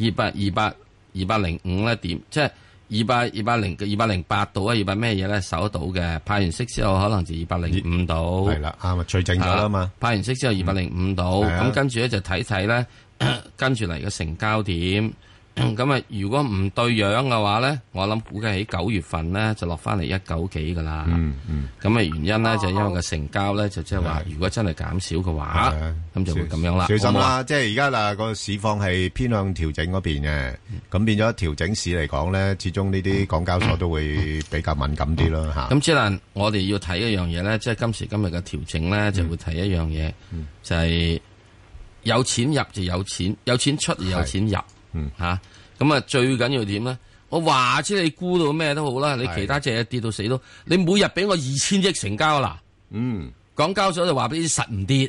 ，205咧點，即係208度啊，200咩嘢咧守得到嘅，派完息之後可能就205度。 係啦，啱啊，除淨咗啦嘛。 派完息之後205度，咁跟住咧就睇睇咧，跟住嚟嘅成交點。咁啊，如果唔對樣嘅話咧，我諗估計喺9月份咧就落翻嚟190幾噶啦。咁啊原因咧就因為個成交咧就即係話，如果真係減少嘅話，咁就會咁樣啦。 小心啦，即係而家嗱個市況係偏向調整嗰邊嘅，咁變咗調整市嚟講咧，始終呢啲港交所都會比較敏感啲咯嚇。 咁之但我哋要睇一樣嘢咧，即係今時今日嘅調整咧，就會睇一樣嘢，就係有錢入就有錢，有錢出就有錢入。吓，咁啊最緊要點咧？我話知你估到咩都好啦，你其他隻嘢跌到死都，你每日俾我2000億成交啦。港交所就話俾你實唔跌。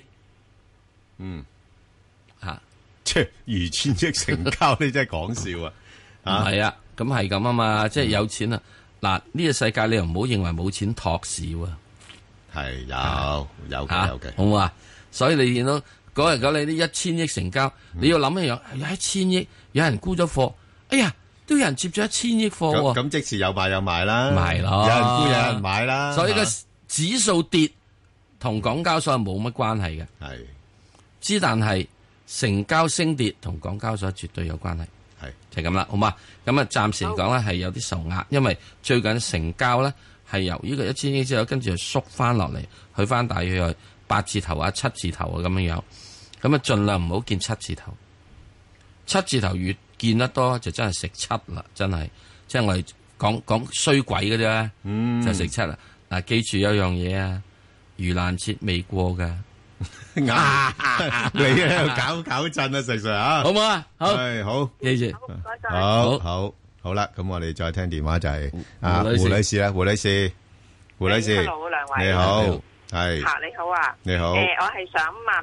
吓， 即係2000億成交，你真係講笑啊！ 係啊，咁係咁啊嘛，即係有錢啊！嗱，呢個世界你又唔好認為冇錢托市喎。 係有嘅， 好唔好啊？所以你見到。嗰日你啲1000億成交，你要諗一樣，有1000億，有人沽咗貨，哎呀，都有人接咗1000億貨喎。 咁即時有賣有賣啦， 賣咯， 有人沽有人買啦。 所以個指數跌同港交所係冇乜關係嘅， 係之但係成交升跌同港交所絕對有關係， 係就係咁啦，好嘛？咁啊，暫時嚟講咧係有啲受壓，因為最近成交咧係由呢個1000億之後，跟住就縮翻落嚟，去翻大約8字頭啊、7字頭啊咁樣樣。咁啊，盡量唔好見7字頭，7字頭越見得多就真係食7啦，真係，即係我哋講衰鬼嘅啫，就食7啦。嗱，記住有樣嘢啊，盂蘭節未過噶， 你喺度搞震啊，石 Sir 啊， 好唔好啊？好， 係好， 記住， 好啦，咁我哋再聽電話就係胡女士啦，胡女士， Hello，兩位， 你好，係， 你好啊， 你好， 我係想問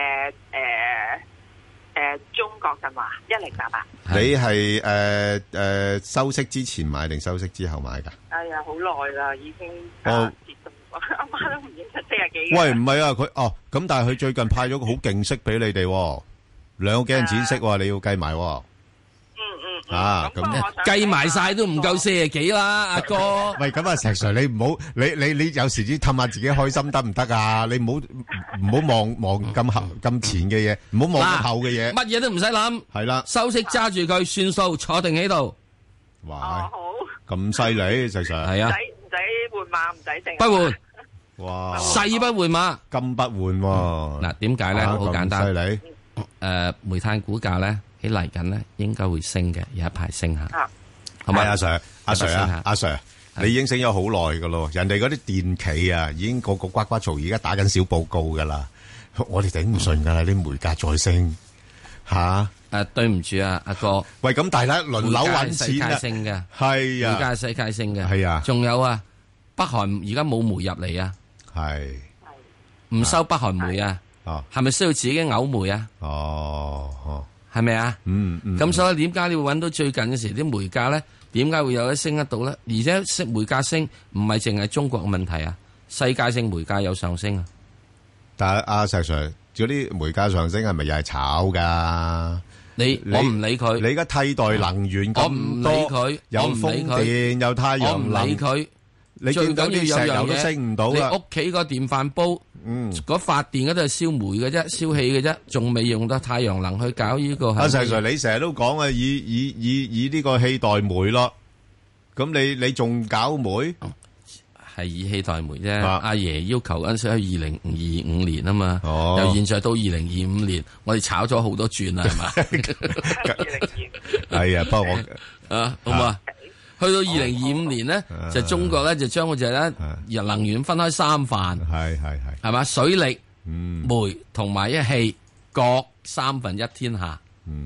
中國神華1088， 你係收息之前買定收息之後買噶？ 哎呀，好耐啦，已經跌到阿媽都唔認得40幾。 喂，唔係啊，佢咁，但係佢最近派咗個好勁息俾你哋，2個幾人展息，你要計埋。咁計埋晒都唔夠40幾啦，阿哥。 喂，咁啊，石 Sir，你唔好，你有時啲氹下自己開心得唔得啊？你唔好望咁前嘅嘢，唔好望咁後嘅嘢。 乜嘢都唔使諗， 係啦， 收息揸住佢算數，坐定喺度。 哇，好，咁犀利，石 Sir。係啊， 唔使換馬，唔使剩。 不換。 哇， 細不換馬， 金不換喎。 嗱，點解咧？好簡單。 犀利。 煤炭股價咧。喺嚟緊咧，應該會升嘅，有一排升下。 係咪阿 Sir，你已經升咗好耐噶咯。人哋嗰啲電企啊，已經個呱呱嘈，而家打緊小報告噶啦。我哋頂唔順噶啦，啲煤價再升吓。 對唔住啊，阿哥。喂， 咁大家輪流搵錢啊。 升嘅係啊， 煤價世界升嘅係啊。 仲有啊，北韓而家冇煤入嚟啊。 係。 唔收北韓煤啊？ 哦。 係咪需要自己嘔煤啊？ 哦。 係咪啊？咁所以點解你會揾到最近嘅時啲煤價咧？點解會有得升得到咧？而且煤價升唔係淨係中國嘅問題啊，世界性煤價有上升啊。但係阿石 Sir，嗰啲煤價上升係咪又係炒噶？ 我唔理佢。 你而家替代能源咁多， 我唔理佢， 有風電有太陽能， 我唔理佢。 你見到啲石油都升唔到啦。 你屋企個電飯煲，嗰發電嗰度係燒煤嘅啫，燒氣嘅啫，仲未用到太陽能去搞呢個。阿 Sir， 你成日都講啊，以呢個氣代煤咯。咁你仲搞煤？ 係以氣代煤啫。阿爺要求嗰陣時喺2025年啊嘛。由現在到2025年，我哋炒咗好多轉啦，係嘛？2025 係啊，不過好嘛？去到2025年咧，就中國咧就將嗰隻咧能源分開三範，係嘛？水力、煤同埋一氣各1/3天下。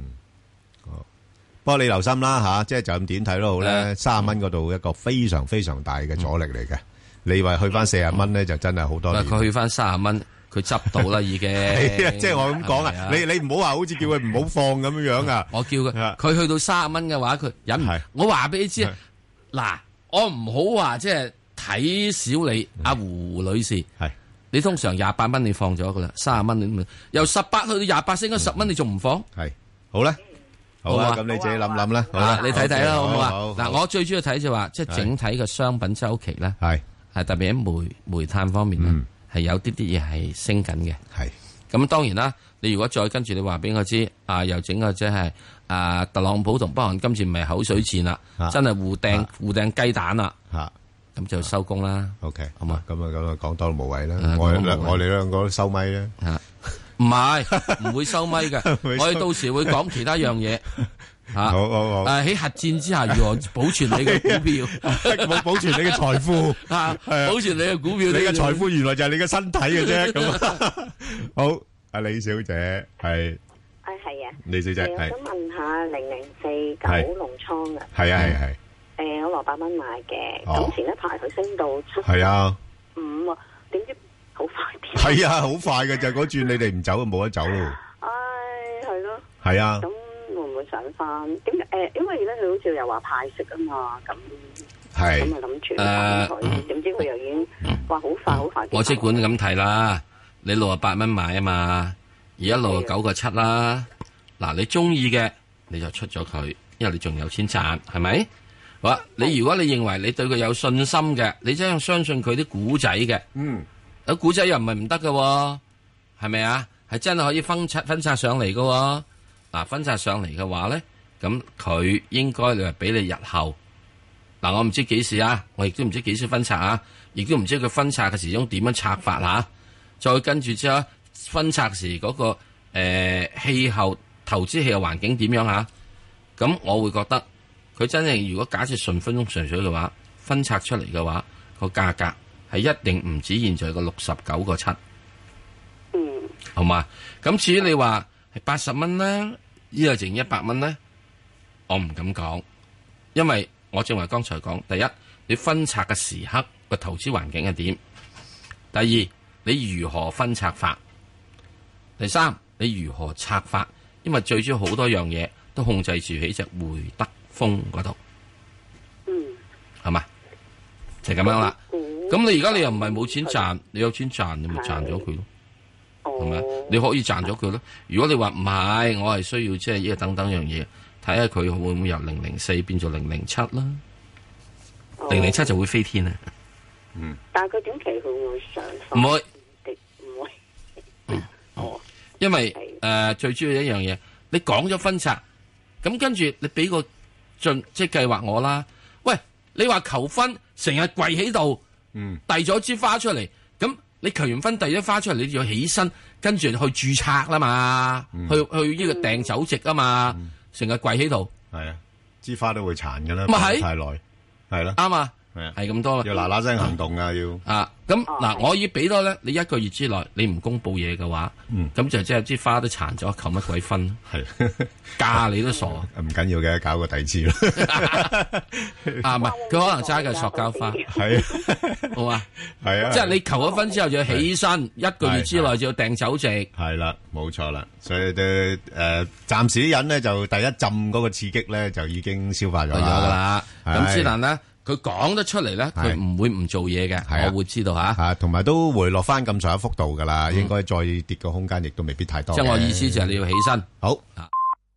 不過你留心啦吓，即係就咁點睇都好咧，30蚊嗰度一個非常非常大嘅阻力嚟嘅。你話去翻40蚊咧，就真係好多年。 佢去翻30蚊，佢執到啦已經。 係啊，即係我咁講啊，你唔好話好似叫佢唔好放咁樣樣啊。 我叫佢去到30蚊嘅話，佢忍唔。我話俾你知，嗱，我唔好話即係睇小你阿胡女士。係，你通常28蚊你放咗噶啦，30蚊你由18去到28升咗10蚊，你仲唔放？係，好咧。好啊，咁你自己諗諗啦。好啦，你睇睇啦，好唔好啊？嗱，我最主要睇就話，即係整體嘅商品周期咧，係特別喺煤炭方面咧，係有啲嘢係升緊嘅。係咁當然啦，你如果再跟住你話俾我知，又整個即係特朗普同北韓今次唔係口水戰啦，真係互掟雞蛋啦，咁就收工啦。OK，好嘛？咁啊講多都無謂啦。我哋兩個都收咪啦。唔係，唔會收咪嘅。我哋到時會講其他樣嘢。好。喺核戰之下，如何保存你嘅股票？ 保存你嘅財富。 保存你嘅股票。 你嘅財富原來就係你嘅身體嘅啫。咁好，阿李小姐係。 係啊。 李小姐係。 我想問下0049龍倉啊。 係。 我落8蚊買嘅，咁前一排佢升到7。 係啊。 5，點知？好快啲， 係啊，好快嘅就嗰轉，你哋唔走就冇得走咯。 唉，係咯。 係啊。 咁會唔會上翻？點解？因為咧佢好似又話派息啊嘛，咁係咁啊諗住佢，點知佢又已經話好快好快。 我即管咁睇啦，你68蚊買啊嘛，而家69個7啦。嗱，你中意嘅你就出咗佢，因為你仲有錢賺，係咪？好啦，你如果你認為你對佢有信心嘅，你真係相信佢啲股仔嘅，有股仔又唔係唔得嘅，係咪啊？係真係可以分拆上嚟嘅。嗱，分拆上嚟嘅話咧，咁佢應該你話俾你日後。嗱，我唔知幾時啊，我亦都唔知幾時分拆啊，亦都唔知佢分拆嘅時鐘點樣拆法吓。再跟住之後分拆時嗰個氣候投資氣候環境點樣吓？咁我會覺得。佢真係如果假設順風順水嘅話，分拆出嚟嘅話，個價格係一定唔止現在個69個7。好嘛？咁至於你話係80蚊啦，依個剩100蚊咧，我唔敢講，因為我正話剛才講，第一，你分拆嘅時刻個投資環境係點；第二，你如何分拆法；第三，你如何拆法，因為最主要好多樣嘢都控制住喺隻匯德豐嗰度，係嘛？就咁樣啦。咁你而家你又唔係冇錢賺，你有錢賺，你咪賺咗佢咯，係咪？你可以賺咗佢咯。如果你話唔係，我係需要即係呢個等等樣嘢，睇下佢會唔會由004變做007啦。007就會飛天啊！ 但係佢短期會唔會上？ 唔會， 唔會。 因為最主要一樣嘢，你講咗分拆，咁跟住你俾個即係計劃我啦。喂，你話求婚成日跪喺度，遞咗支花出嚟，咁你求完婚遞咗花出嚟，你就要起身跟住去註冊啦嘛，去呢個訂酒席啊嘛，成日跪喺度， 係啊，支花都會殘噶啦， 咪係太耐，係啦， 啱啊。係咁多啦， 要嗱嗱聲行動啊！要咁嗱，我要俾多咧，你1個月之內你唔公布嘢嘅話，咁就即係支花都殘咗，求乜鬼分？係嫁你都傻， 唔緊要嘅，搞個第二次咯。 唔係，佢可能揸嘅塑膠花，係好嘛？係啊，即係你求咗婚之後就要起身，1個月之內就要訂酒席， 係啦，冇錯啦。所以都暫時啲人咧就第一浸嗰個刺激咧就已經消化咗啦。 咁之但咧。佢講得出嚟咧，佢唔會唔做嘢嘅，我會知道吓， 同埋都回落翻咁上下幅度噶啦，應該再跌個空間亦都未必太多。 即係我意思就係你要起身， 好。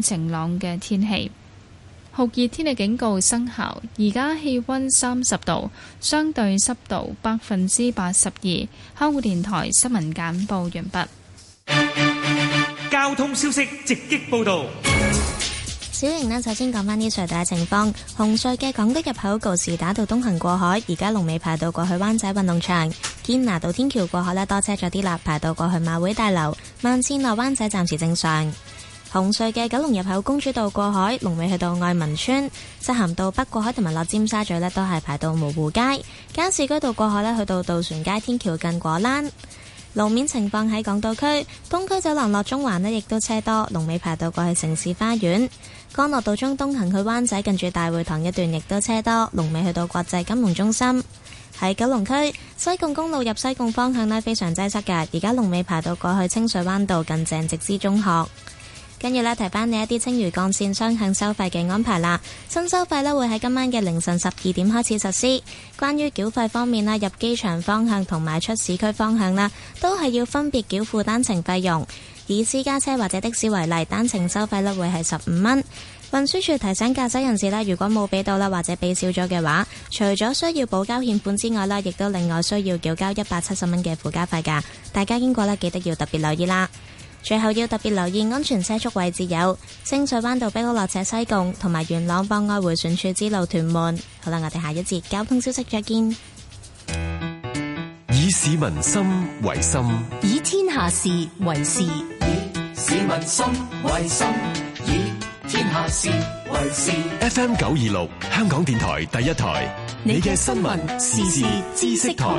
晴朗嘅天氣。酷熱天氣警告生效，而家氣溫30度，相對濕度82%。香港電台新聞簡報完畢。 交通消息直擊報道。 小瑩呢，首先講返啲隧道嘅情況。紅隧嘅港島入口告士打道東行過海，而家龍尾排到過去灣仔運動場。堅拿道天橋過海呢，多車咗啲啦，排到過去馬會大樓。慢線落灣仔暫時正常。紅隧嘅九龍入口公主道過海，龍尾去到愛民村。漆咸道北過海同埋落尖沙咀呢，都係排到蕪湖街。加士居道過海呢，去到渡船街天橋近果欄。路面情況喺港島區，東區走廊落中環呢，亦都車多，龍尾排到過去城市花園。干諾道中東行去灣仔近住大會堂一段亦都車多，龍尾去到國際金融中心。喺九龍區西貢公路入西貢方向呢，非常擠塞嘅，而家龍尾排到過去清水灣道近鄭直之中學。跟住呢，提翻你一啲青嶼幹線雙向收費嘅安排啦。新收費呢會喺今晚嘅凌晨12點開始實施。關於繳費方面啦，入機場方向同埋出市區方向啦，都係要分別繳付單程費用。以私家車或者的士為例，單程收費呢會係15蚊。運輸署提醒駕駛人士啦，如果冇俾到啦或者俾少咗嘅話，除咗需要補交欠款之外啦，亦都另外需要繳交170蚊嘅附加費㗎。大家經過呢，記得要特別留意啦。最後要特別留意安全車速位置有清水灣道碧屋落斜西貢同埋元朗博愛迴旋處之路屯門。好啦，我哋下一節交通消息再見。 以市民心為心， 以天下事為事，以市民心為心，以天下事為事。 FM 926香港電台第一台，你嘅新聞時事知識台。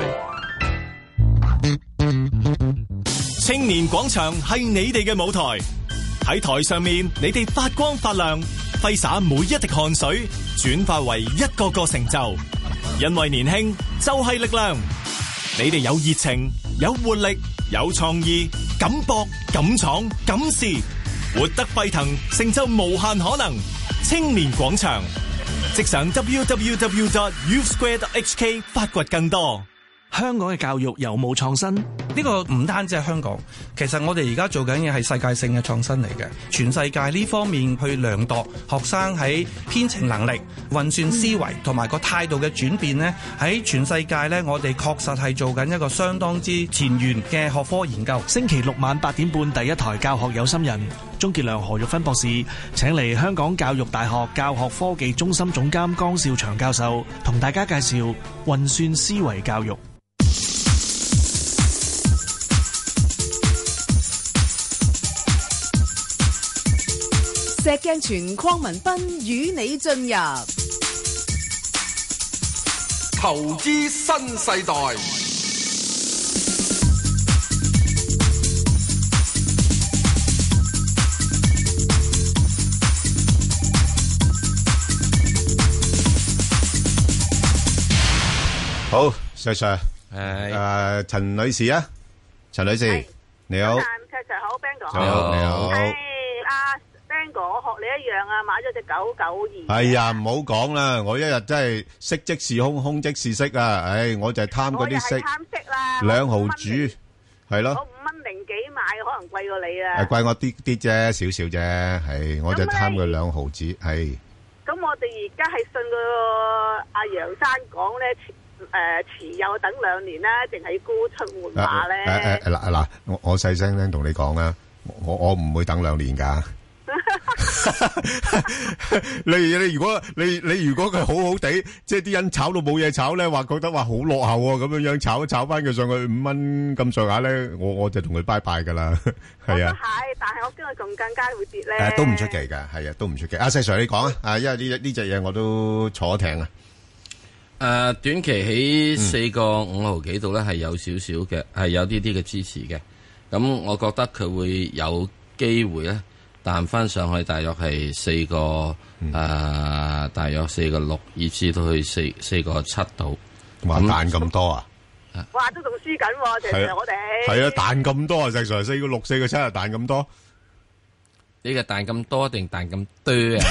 青年廣場係你哋嘅舞台，喺台上面你哋發光發亮，揮灑每一滴汗水，轉化為一個個成就。因為年輕就係力量，你哋有熱情、有活力、有創意，敢搏、敢闖、敢試，活得沸騰，成就無限可能。青年廣場，即上 www.youthsquare.hk 發掘更多。 香港嘅教育有冇創新？呢個唔單止係香港，其實我哋而家做緊嘅係世界性嘅創新嚟嘅。全世界呢方面去量度學生喺編程能力、運算思維同埋個態度嘅轉變呢，喺全世界呢，我哋確實係做緊一個相當之前沿嘅學科研究。 星期六晚8點半，第一台教學有心人，鍾傑良、何玉芬博士請嚟香港教育大學教學科技中心總監江少祥教授，同大家介紹運算思維教育。 石鏡泉鄺民彬與你進入投資新世代。 好，石 Sir， 陳女士啊，陳女士，你好， 石 Sir 好 ，Ben 哥， 你好，你好。 我學你一樣啊，買咗隻992。 係啊，唔好講啦，我一日真係息即是空，空即是息啊！唉，我就係貪嗰啲息。 貪息啦 ，2毫主，係咯。 我5蚊零幾買，可能貴過你啊。 貴我啲啲啫，少少啫，係，我就貪佢2毫子，係。 咁我哋而家係信個阿楊生講咧，持有等2年啦，定係沽出換馬咧？ 嗱，我細聲聲同你講啊，我唔會等2年噶。你如果佢好好地，即係啲人炒到冇嘢炒咧，話覺得話好落後咁樣樣炒翻佢上去5蚊咁上下咧，我就同佢拜拜噶啦。係啊， 但係我驚佢仲更加會跌咧。 都唔出奇噶，係啊，都唔出奇。阿細 Sir 你講啊，因為呢隻嘢我都坐艇啊。 短期喺4個5毫幾度咧，係有少少嘅，係有啲嘅支持嘅。咁我覺得佢會有機會咧。彈翻上去大約係4個大約4個6，以至到去4個7度。 話彈咁多啊？ 哇，都仲輸緊喎！其實我哋係啊，彈咁多啊！石 Sir 4個6、4個7啊，彈咁多。 呢個彈咁多定彈咁多啊？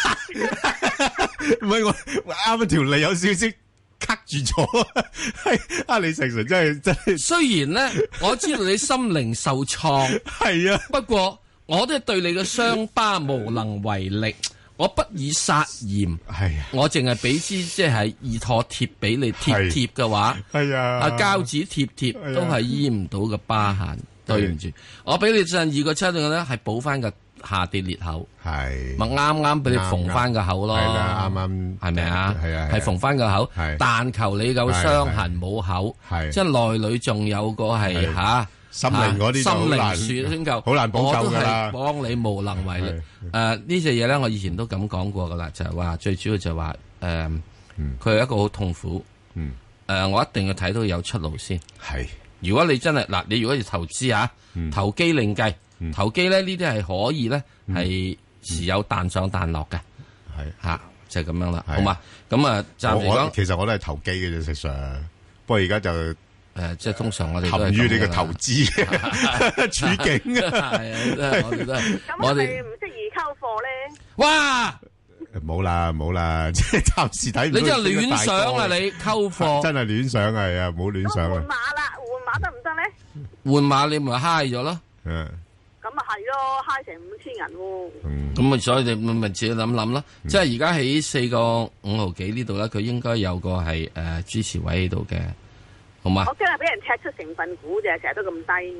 唔係我啱啱條脷有少少卡住咗。啊，你石 Sir 真係。雖然咧，我知道你心靈受創， 係啊， 不過。 我都係對你嘅傷疤無能為力，我不以殺鹽， 係啊， 我淨係俾支即係易妥貼俾你貼嘅話， 係啊， 膠紙貼都係醫唔到嘅疤痕，對唔住，我俾你陣2個7嘅咧，係補翻個下跌裂口， 係咪啱啱俾你縫翻個口咯， 係啦，啱啱係咪啊？ 係啊， 係縫翻個口，但求你夠傷痕冇口，即係內裏仲有個係吓。 心靈嗰啲心靈樹先夠， 好難補救噶啦。 我都係幫你無能為力。呢隻嘢咧，我以前都咁講過噶啦，就係話最主要就係話佢係一個好痛苦。我一定要睇到有出路先。係，如果你真係嗱，你如果要投資啊，投機另計，投機咧呢啲係可以咧係時有彈上彈落嘅。係吓，就係咁樣啦，好嘛？咁啊，暫時講， 其實我都係投機嘅啫，實上。不過而家就。 即係通常我哋陷於你嘅投資處境啊， 係啊，我哋都係。我哋唔適宜溝貨咧。 哇！ 冇啦，即係暫時睇唔到。 你真係亂想啊！你溝貨真係亂想係啊，唔好亂想啊。 換馬啦，換馬得唔得咧？ 換馬你咪嗨咗咯。 咁啊係咯，嗨成5000銀喎。 咁啊，所以你咪自己諗諗咯。即係而家喺4個5毫幾呢度咧，佢應該有個係支持位喺度嘅。我驚係俾人踢出成分股啫，成日都咁低。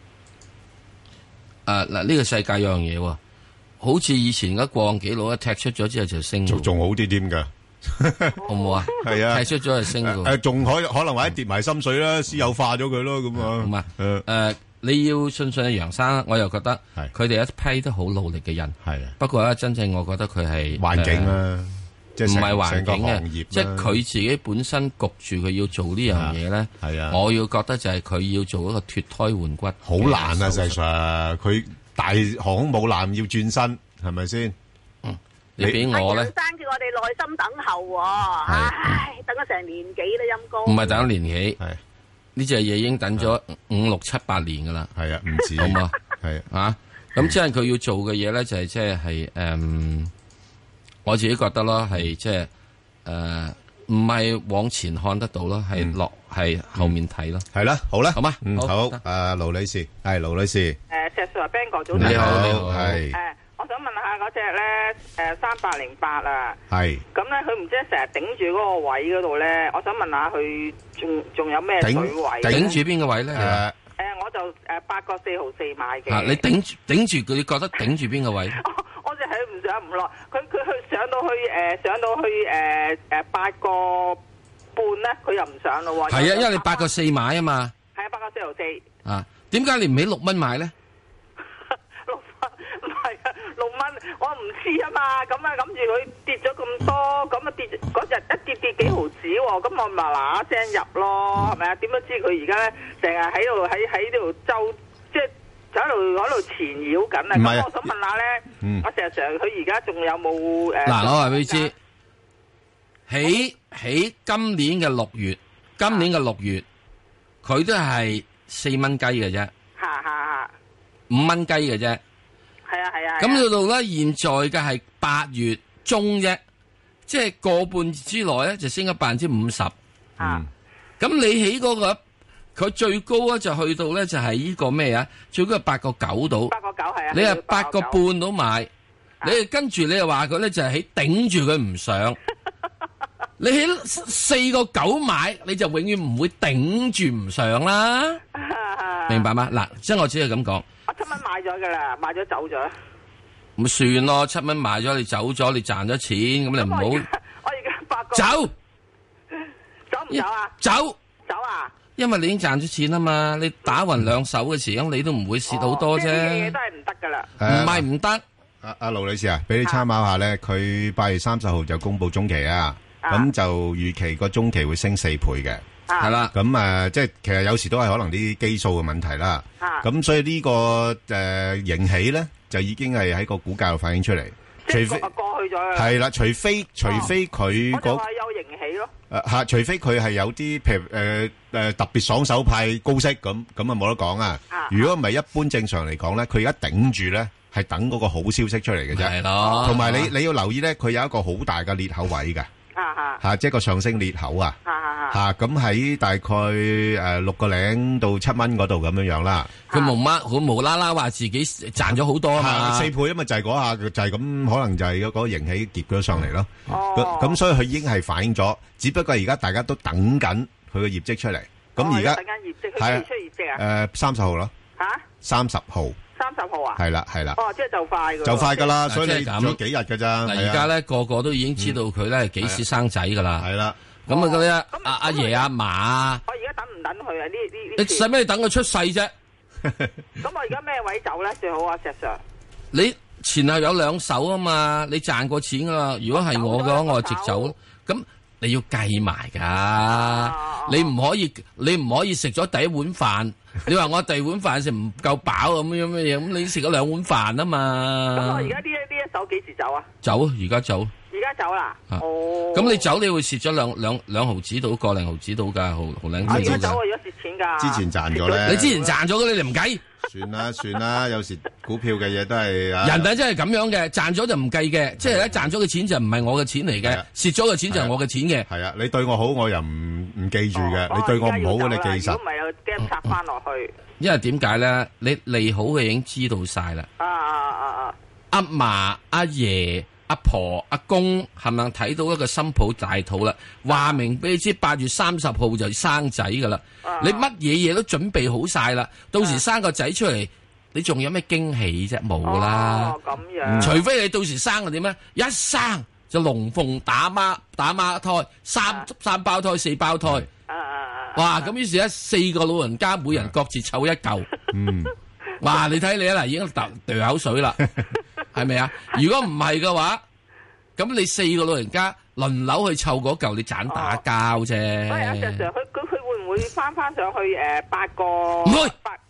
嗱，呢個世界有樣嘢喎，好似以前嗰過幾佬一踢出咗之後就升， 仲好啲添噶， 好唔好啊？係啊，踢出咗就升噶。 仲可能或者跌埋心水啦，私有化咗佢咯，咁啊。 咁啊，你要信阿楊生，我又覺得佢哋一批都好努力嘅人。係啊，不過咧，真正我覺得佢係環境啦。 唔係環境嘅，即係佢自己本身焗住佢要做呢樣嘢咧。係啊，我要覺得就係佢要做一個脫胎換骨， 好難啊！實際上，佢大航空母艦要轉身，係咪先？ 你俾我咧， 生叫我哋耐心等候，唉，等咗成年幾啦，陰公。 唔係等咗年幾，係呢隻嘢已經等咗5、6、7、8年噶啦。係啊，唔止，好嘛？係啊，咁即係佢要做嘅嘢咧，就係即係我自己覺得咯，係即係唔係往前看得到咯，係落係後面睇咯。係啦，好啦，好嘛， 好。盧女士，係盧女士。 石 Sir Ben 哥早晨。 你好，係。 我想問下嗰隻咧，3808啊。 係。 咁咧，佢唔知成日頂住嗰個位嗰度咧，我想問下佢仲有咩水位？ 頂住邊個位咧？ 我就8個4毫4買嘅。 你頂住佢，你覺得頂住邊個位？ 我就係唔上唔落，佢去上到去8個半咧，佢又唔上咯喎。係啊， 因為你8個4買啊嘛。 係啊，8個4毫4。 啊，點解你唔喺6蚊買咧 ？6蚊唔係啊，6蚊我唔知啊嘛。咁啊，諗住佢跌咗咁多，咁啊跌嗰日一跌幾毫子喎，咁我咪嗱聲入咯，係咪啊？點都知佢而家咧成日喺度周即係。就喺度纏繞緊啊！咁我想問下咧，我成日佢而家仲有冇嗱，我話俾你知，喺今年嘅6月，佢都係4蚊雞嘅啫， 5蚊雞嘅啫， 係啊。 咁到到咧，現在嘅係8月中啫，即係個半月之內咧就升咗50%。咁你喺嗰個。佢最高咧就去到咧就係呢個咩啊？最高係8個9度。 8個9係啊。 你係8個半度買，你跟住你又話佢咧就係喺頂住佢唔上。你喺4個9買，你就永遠唔會頂住唔上啦。明白嗎？嗱，即係我只係咁講。 我7蚊買咗噶啦，買咗走咗。 咁算咯，7蚊買咗，你走咗，你賺咗錢，咁你唔好。 我而家8個。 走唔走啊？ 走啊！ 因為你已經賺咗錢啊嘛，你打匀兩手嘅時候，你都唔會蝕好多啫。呢啲嘢都係唔得噶啦。 唔係唔得。 阿盧女士啊，俾你參考下咧，佢8月30號就公布中期啊，咁就預期個中期會升4倍嘅，係啦。咁即係其實有時都係可能啲基數嘅問題啦。咁所以呢個盈喜咧，就已經係喺個股價度反映出嚟。除非過去咗係啦，除非佢我就話有盈喜咯。 除非佢係有啲譬如特別爽手派高息咁啊冇得講啊！如果唔係一般正常嚟講咧，佢而家頂住咧係等嗰個好消息出嚟嘅啫。係咯，同埋你要留意咧，佢有一個好大嘅裂口位嘅。 嚇，即係個上升裂口啊，嚇咁喺大概6個零到7蚊嗰度咁樣樣啦。 佢無啦啦話自己賺咗好多啊嘛 ，4倍啊嘛，就係嗰下就係咁，可能就係嗰個盈喜夾咗上嚟咯。咁所以佢已經係反映咗，只不過而家大家都等緊佢嘅業績出嚟。咁而家等緊業績，佢幾時出業績啊 ？30號咯。 嚇 ？30號。 30號啊？ 係啦。 哦，即係就快㗎。 就快㗎啦，所以你咁仲有幾日㗎咋？ 嗱，而家咧個個都已經知道佢咧幾時生仔㗎啦。 係啦。 咁啊嗰啲阿爺阿嫲啊。 我而家等唔等佢啊？呢你使咩等佢出世啫？ 咁我而家咩位走咧最好啊，石 Sir？ 你前後有兩手啊嘛，你賺過錢㗎啦。如果係我嘅話，我就直走。咁你要計埋㗎，你唔可以食咗第一碗飯。你話我第二碗飯食唔夠飽咁樣乜嘢？咁你食咗2碗飯啊嘛。 咁我而家呢一手幾時走啊？ 走，而家走。 而家走啦。哦。 咁你走你會蝕咗兩毫子到個零毫子到㗎，毫零子。 而家走我而家蝕錢㗎。 之前賺咗咧。 你之前賺咗嘅你唔計。 算啦，有時股票嘅嘢都係人哋真係咁樣嘅，賺咗就唔計嘅，即係咧賺咗嘅錢就唔係我嘅錢嚟嘅，蝕咗嘅錢就係我嘅錢嘅。 係啊，你對我好我又唔記住嘅，你對我唔好你記實。 如果唔係又驚插翻落去。 因為點解咧？你利好嘅已經知道晒啦。阿嫲、阿爺、阿婆、阿公係咪睇到一個新抱大肚啦？話明俾你知8月30號就生仔噶啦。你乜嘢嘢都準備好晒啦，到時生個仔出嚟，你仲有咩驚喜啫？冇啦。 咁樣。 除非你到時生個點咧，一生就龍鳳打孖胎，三胞胎、4胞胎。哇！咁於是咧，4個老人家每人各自湊一嚿。哇！你睇你啊嗱，已經掉口水啦，係咪啊？如果唔係嘅話，咁你4個老人家輪流去湊嗰嚿，你盞打交啫。 喂，阿 Sir，佢會唔會翻上去8個？ 唔會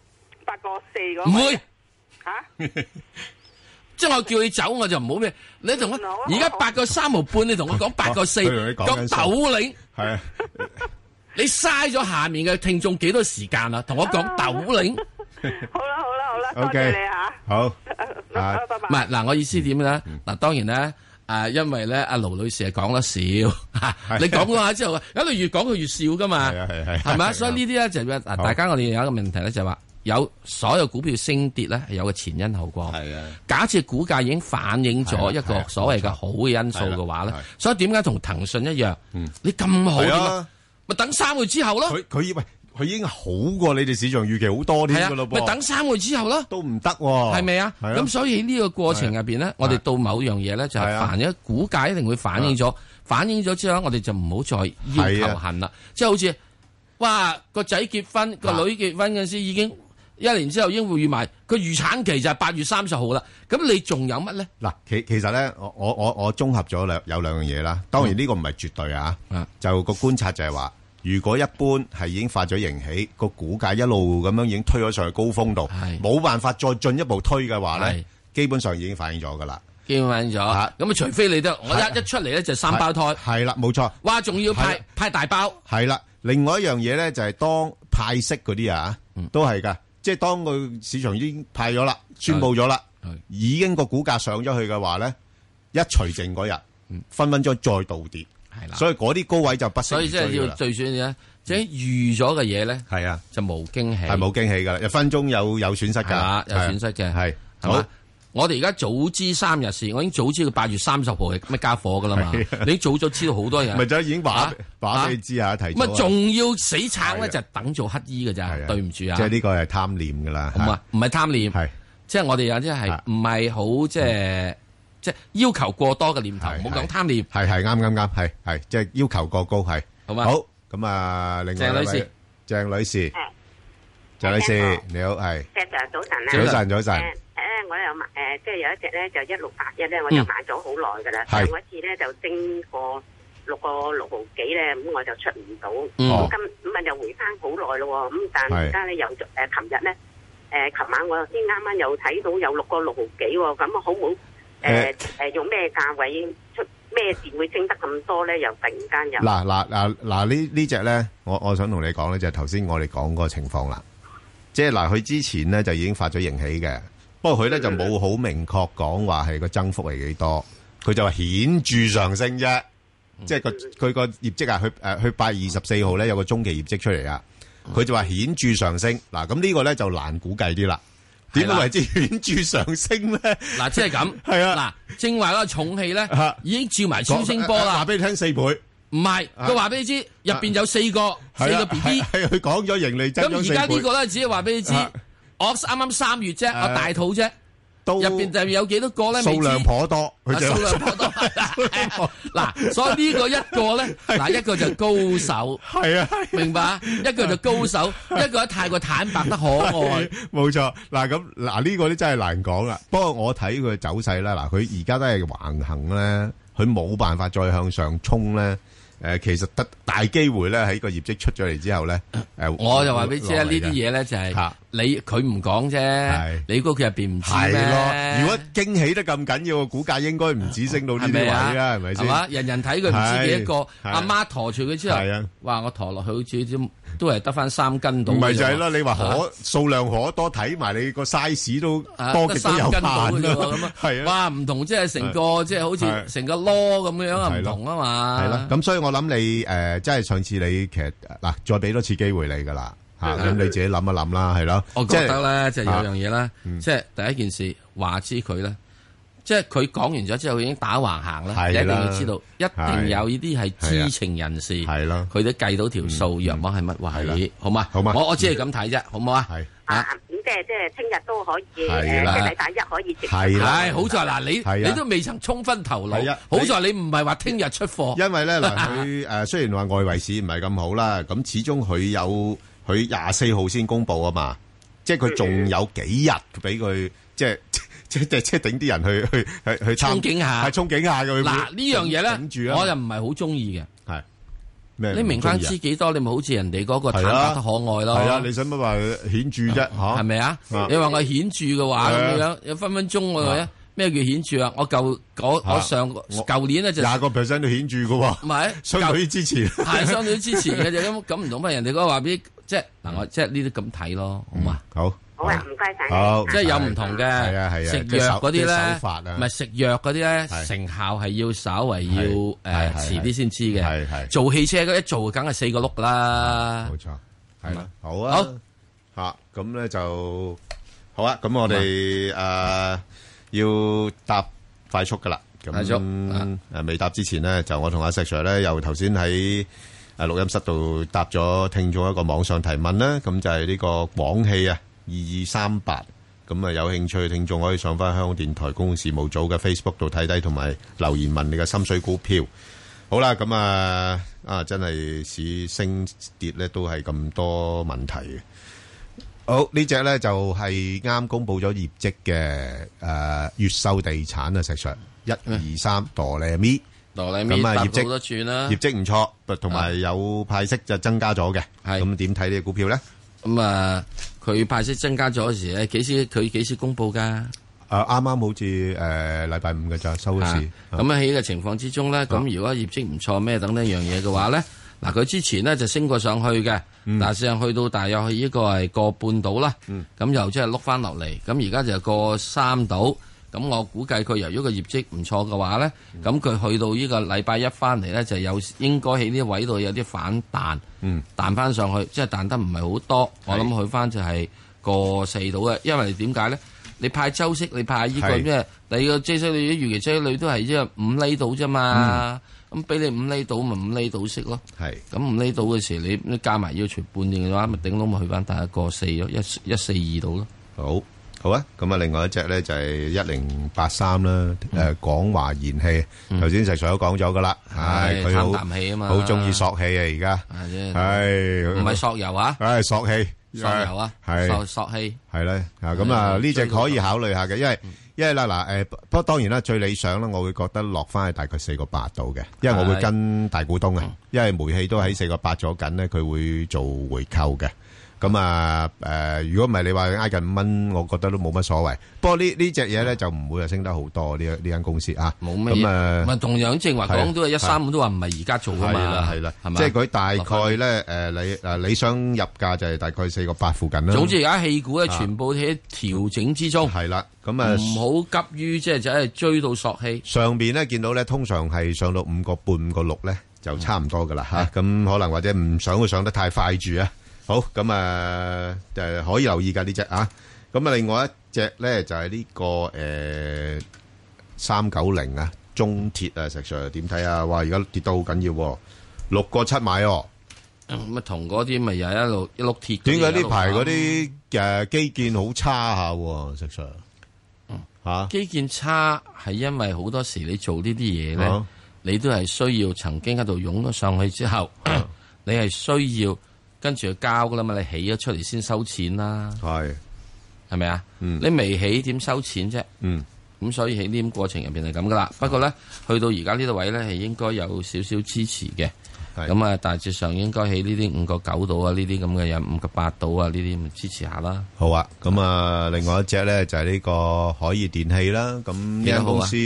8個4個。 唔會嚇！ 即係我叫你走，我就唔好咩？你同我而家8個3毫半，你同我講8個4，講斗零。係啊。你嘥咗下面嘅聽眾幾多時間啊？同我講斗零。 好啦，多謝你嚇。 好， 拜拜。 唔係嗱，我意思點咧？嗱，當然咧，因為咧，阿盧女士係講得少，你講嗰下之後，一路越講佢越笑噶嘛。係咪？所以呢啲咧就嗱，大家我哋有一個問題咧，就係話有所有股票升跌咧係有個前因後果。係啊。假設股價已經反映咗一個所謂嘅好嘅因素嘅話咧，所以點解同騰訊一樣？你咁好點啊？咪等3個月之後咯。 佢以為佢已經好過你哋市場預期好多添噶咯噃。咪等3個月之後咯。都唔得， 係咪啊？咁所以呢個過程入邊咧，我哋到某樣嘢咧就係凡一股價一定會反映咗，反映咗之後，我哋就唔好再要求恨啦。即係好似哇個仔結婚，個女結婚嗰陣時已經1年之後已經會預埋，佢預產期就係8月30號啦。咁你仲有乜咧？ 嗱，其實咧，我綜合咗有兩樣嘢啦。當然呢個唔係絕對啊，就個觀察就係話。如果一般係已經發咗盈喜，個股價一路咁樣已經推咗上去高峰度，冇辦法再進一步推嘅話咧，基本上已經反映咗噶啦。基本反映咗，咁啊，除非你得我一出嚟咧就3胞胎，係啦，冇錯。哇，仲要派大包，係啦。另外一樣嘢咧就係當派息嗰啲啊，都係噶，即係當個市場已經派咗啦，宣佈咗啦，已經個股價上咗去嘅話咧，一除淨嗰日，分分鐘再倒跌。係啦，所以嗰啲高位就不適宜追啦。所以即係要最選嘅，即係預咗嘅嘢咧，係啊，就冇驚喜，係冇驚喜噶啦，一分鐘有損失噶，有損失嘅，係好。我哋而家早知3日事，我已經早知佢8月30號係咩家伙噶啦嘛，你早咗知道好多人，咪就已經話俾你知下提。咁啊，仲要死撐咧，就等做乞衣噶咋，對唔住啊。即係呢個係貪念噶啦，唔係貪念，係即係我哋有啲係唔係好即係要求過多嘅念頭，唔好講貪念。係啱，係即係要求過高，係好嘛？好咁啊，另外鄭女士，鄭女士你好，係。 早晨啊， 早晨。 我又買即係有一隻咧就1681咧，我就買咗好耐㗎啦。上一次咧就升過6個6毫幾咧，咁我就出唔到。咁啊又回翻好耐咯喎，咁但係而家咧又琴日咧琴晚我先啱啱又睇到有6個6毫幾喎，咁啊好唔好？用咩價位出咩事會升得咁多咧？又突然間又嗱呢隻咧，我想同你講咧，就係頭先我哋講嗰個情況啦。即係嗱，佢之前咧就已經發咗盈喜嘅，不過佢咧就冇好明確講話係個增幅係幾多，佢就話顯著上升啫。 即係佢個業績啊，佢8月24號咧有個中期業績出嚟啊，佢就話顯著上升。嗱，咁呢個咧就難估計啲啦。點解為之顯著上升咧？ 嗱，即係咁。係啊。嗱，正話嗰個重器咧，已經照埋超聲波啦。 話俾你聽4倍。 唔係，佢話俾你知入邊有4個 BB。 係佢講咗盈利增長4倍。 咁而家呢個咧，只係話俾你知，我啱啱3月啫，我大肚啫。入邊就有幾多個咧？ 數量頗多， 數量頗多。嗱，所以呢個一個咧，嗱一個就高手， 係啊， 明白？一個就高手，一個太過坦白得可愛。 冇錯，嗱咁嗱呢個咧真係難講啦。不過我睇佢走勢啦，嗱佢而家都係橫行咧，佢冇辦法再向上衝咧。其實得大機會咧，喺個業績出咗嚟之後咧， 我就話俾你知啊，呢啲嘢咧就係佢唔講啫，你估佢入邊唔知咩？係咯， 如果驚喜得咁緊要，個股價應該唔止升到呢啲位啦，係咪先？ 係嘛，人人睇佢唔知幾多個，阿媽陀住佢之後，話我陀落去好似都係得翻3斤到。唔係就係啦，你話數量可多，睇埋你個 size 都多極都有限咁啊，係啊， 哇，唔同即係成個即係好似成個籮咁樣啊，唔同啊嘛。 係啦，咁所以我諗你即係上次你其實嗱，再俾多次機會你噶啦。咁你自己諗一諗啦，係咯。 我覺得咧，即係有樣嘢咧，即係第一件事話知佢咧，即係佢講完咗之後已經打橫行啦。你一定要知道，一定有呢啲係知情人士，係咯，佢都計到條數，若果係乜位，好嘛？好嘛？我只係咁睇啫，好唔好啊？係咁即係聽日都可以，即係禮拜1可以直。 係好在嗱，你都未曾衝昏頭腦，好在你唔係話聽日出貨。 因為咧嗱，佢雖然話外圍市唔係咁好啦，咁始終佢24號先公布啊嘛，即係佢仲有幾日俾佢，即係頂啲人去憧憬下， 係憧憬下嘅。 嗱呢樣嘢咧，我又唔係好中意嘅。 係咩？ 你明翻知幾多？你咪好似人哋嗰個坦白得可愛咯。 係啊，你使乜話顯著啫？吓， 係咪啊？你話我顯著嘅話咁樣，有分鐘嘅咩叫顯著啊？我舊年咧就 20% 都顯著嘅喎。 唔係， 相對於之前係相對於之前嘅啫。咁唔同乜？人哋嗰個話俾即係嗱，我即係呢啲咁睇咯，好嘛？ 好。 好啊，唔該晒。 好， 即係有唔同嘅。係啊， 食藥嗰啲咧，唔係食藥嗰啲咧，成效係要稍為要遲啲先知嘅。係做汽車一做，梗係4個轆噶啦。 冇錯，係啦。好啊。好吓，咁咧就好啊。咁我哋要答快速噶啦。咁未答之前呢，就我同阿石 Sir 咧，又頭先喺錄音室度答咗聽眾一個網上提問啦。咁就係呢個廣汽啊。2238，咁啊有興趣嘅聽眾可以上翻香港電台公共事務組嘅 Facebook 度睇睇，同埋留言問你嘅心水股票。好啦，咁真係市升跌咧都係咁多問題嘅。好，呢隻咧就係啱公布咗業績嘅越秀地產啊，石 Sir 123哆唻咪咁啊，業績唔錯，同埋有派息就增加咗嘅。咁點睇呢個股票咧？ 咁佢派息增加咗嗰時咧，佢幾時公布噶？ 啱啱好似禮拜5嘅咋收市。咁喺呢個情況之中咧，咁如果業績唔錯咩等等一樣嘢嘅話咧，嗱佢之前咧就升過上去嘅，但係事實上去到大約係呢個係個半度啦，咁又即係碌翻落嚟，咁而家就個3度。咁我估計佢由於個業績唔錯嘅話咧，咁佢去到呢個禮拜1翻嚟咧，就應該喺呢啲位度有啲反彈，彈翻上去，即係彈得唔係好多。我諗去翻就係個4度嘅，因為點解咧？你派周息，你派呢個咩？你個孳息率預期孳息率都係即係5厘度啫嘛。咁俾你5厘度，咪5厘度息咯。係咁5厘度嘅時，你加埋要除半年嘅話，咪頂到咪去翻大個4咯，142度咯。 好啊，咁啊，另外一隻咧就係1083啦，廣華燃氣，頭先石 Sir 都講咗噶啦，係佢啖氣啊嘛， 好中意索氣啊，而家係唔係索油啊？ 索氣， 索油啊， 係索氣， 係咧，咁啊呢隻可以考慮下嘅，因為啦嗱，不過當然啦，最理想啦，我會覺得落翻去大概4個8度嘅，因為我會跟大股東啊，因為煤氣都喺4個8咗緊咧，佢會做回購嘅。 咁啊如果唔係你話挨近5蚊，我覺得都冇乜所謂。不過呢隻嘢咧就唔會係升得好多呢間公司啊。 冇乜嘢。咁同樣正話講都係135都話唔係而家做啊嘛。 係啦，即係佢大概咧你想入價就係大概4個8附近啦。 總之而家氣股咧全部喺調整之中。 係啦，咁啊唔好急於即係追到索氣。 上邊咧見到咧通常係上到5個半5個6咧就差唔多噶啦嚇。咁可能或者唔想佢上得太快住啊。好，咁可以留意㗎呢隻啊。咁啊另外一隻咧就係呢個390啊，中鐵啊，石 Sir 點睇啊？哇！而家跌到好緊要喎，6個7買喎。 咁啊同嗰啲咪又一碌鐵。 點解呢排嗰啲基建好差下喎，石 Sir？嚇， 基建差係因為好多時你做呢啲嘢咧，你都係需要曾經喺度湧咗上去之後，你係需要。跟住就交噶啦嘛，你起咗出嚟先收錢啦，係咪啊？你未起點收錢啫？咁所以喺呢啲過程入邊係咁噶啦。不過咧，去到而家呢個位咧係應該有少少支持嘅。咁啊，大致上應該喺呢啲5個9度啊，呢啲咁嘅有5個8度啊，呢啲咪支持下啦。 好啊，咁啊，另外一隻咧就係呢個海爾電器啦。咁呢間公司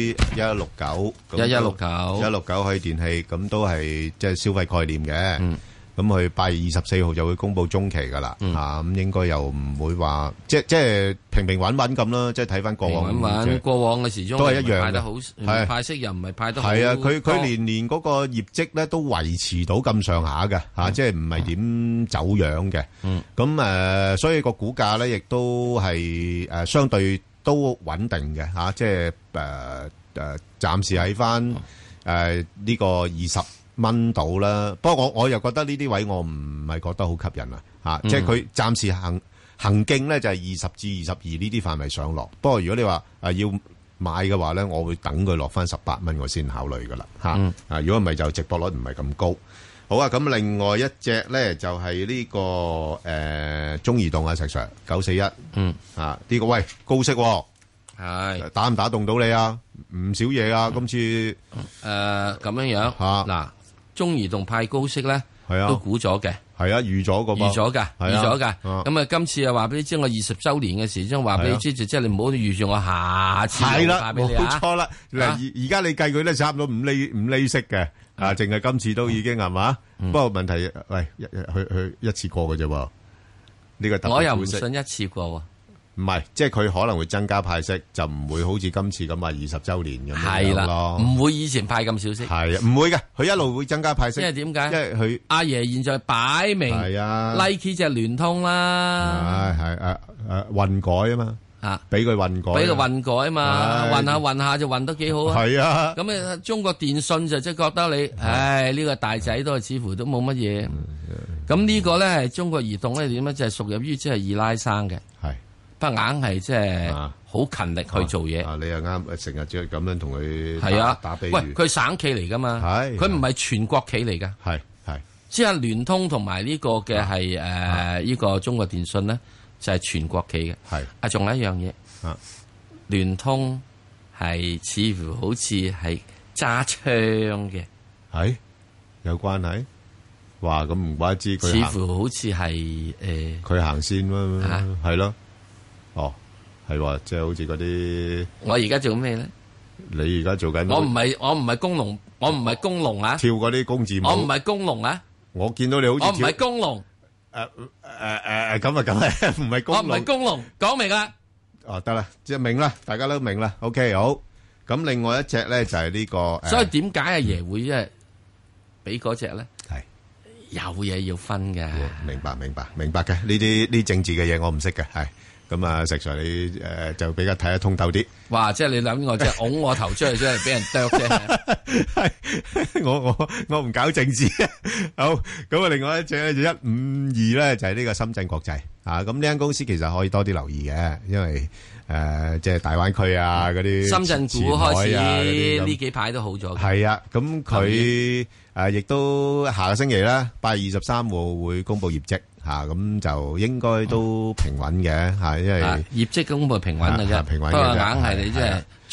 1169海爾電器，咁都係即係消費概念嘅。咁佢8月24號就會公布中期噶啦，咁應該又唔會話即係平平穩穩咁啦，即係睇翻過往。 過往嘅時鐘都係一樣派得好，派息又唔係派得好。 係啊，佢年嗰個業績咧都維持到咁上下嘅嚇，即係唔係點走樣嘅。咁所以個股價咧亦都係相對都穩定嘅嚇，即係暫時喺翻呢個20蚊到啦，不過我又覺得呢啲位我唔係覺得好吸引啊，即係佢暫時行徑咧就係20至22呢啲範圍上落。不過如果你話要買嘅話咧，我會等佢落翻18蚊我先考慮噶啦嚇。如果唔係就值博率唔係咁高。好啊，咁另外一隻咧就係呢個中移動啊，石 Sir 941，呢個喂高息喎。係打唔打動到你啊？唔少嘢啊！今次咁樣嗱，中移動派高息咧，都估咗嘅， 係啊，預咗噶， 咁啊，今次又話俾你知，我20週年嘅時，將話俾你知，即係你唔好預住我下次派俾你啊！ 冇錯啦，嗱，而家你計佢咧，差唔多5厘息嘅，淨係今次都已經係嘛？不過問題，喂，去一次過嘅啫喎，呢個我又唔信一次過喎。 唔係，即係佢可能會增加派息，就唔會好似今次咁話20週年咁樣咯。 唔會以前派咁少息。 係啊，唔會嘅，佢一路會增加派息。 因為點解？ 因為佢阿爺現在擺明係啊 ，Nike 隻聯通啦。 係混改啊嘛，俾佢混改， 俾佢混改啊嘛，混下就混得幾好啊。 係啊， 咁啊，中國電信就即係覺得你，呢個大仔都係似乎都冇乜嘢。咁呢個咧係中國移動咧點咧就係屬入於即係二奶生嘅。係。不硬係即係好勤力去做嘢。 你又啱，成日即係咁樣同佢打比喻。 喂，佢省企嚟噶嘛？佢唔係全國企嚟噶。係，即係聯通同埋呢個嘅係呢個中國電信咧，就係全國企嘅。係仲有一樣嘢，聯通係似乎好似係揸槍嘅。係有關係？哇！咁唔怪之佢。 似乎好似係佢行先啦，係咯。哦，係喎，即係好似嗰啲。我而家做咩咧？ 你而家做緊？ 我唔係工農，我唔係工農啊！ 跳嗰啲工字舞。 我唔係工農啊！ 我見到你好似。 我唔係工農。 咁啊，梗係唔係工農。 我唔係工農，講明啦。 哦，得啦，即係明啦，大家都明啦。OK，好。咁另外一隻咧就係呢個。 所以點解阿爺會即係俾嗰隻咧？係有嘢要分嘅。 明白嘅。呢啲政治嘅嘢我唔識嘅，係。咁啊，石 Sir 你就比較睇得通透啲。 哇！即係你諗我即係拱我頭出去，即係俾人啄啫。 係我唔搞政治。好，咁啊，另外一隻咧就152咧，就係呢個深圳國際啊。咁呢間公司其實可以多啲留意嘅，因為即係大灣區啊嗰啲深圳股開始呢幾排都好咗。 係啊，咁佢亦都下個星期啦，8月23號會公布業績。咁就應該都平穩嘅，因為業績公布平穩嘅啫， 平穩嘅。 不過硬係你即係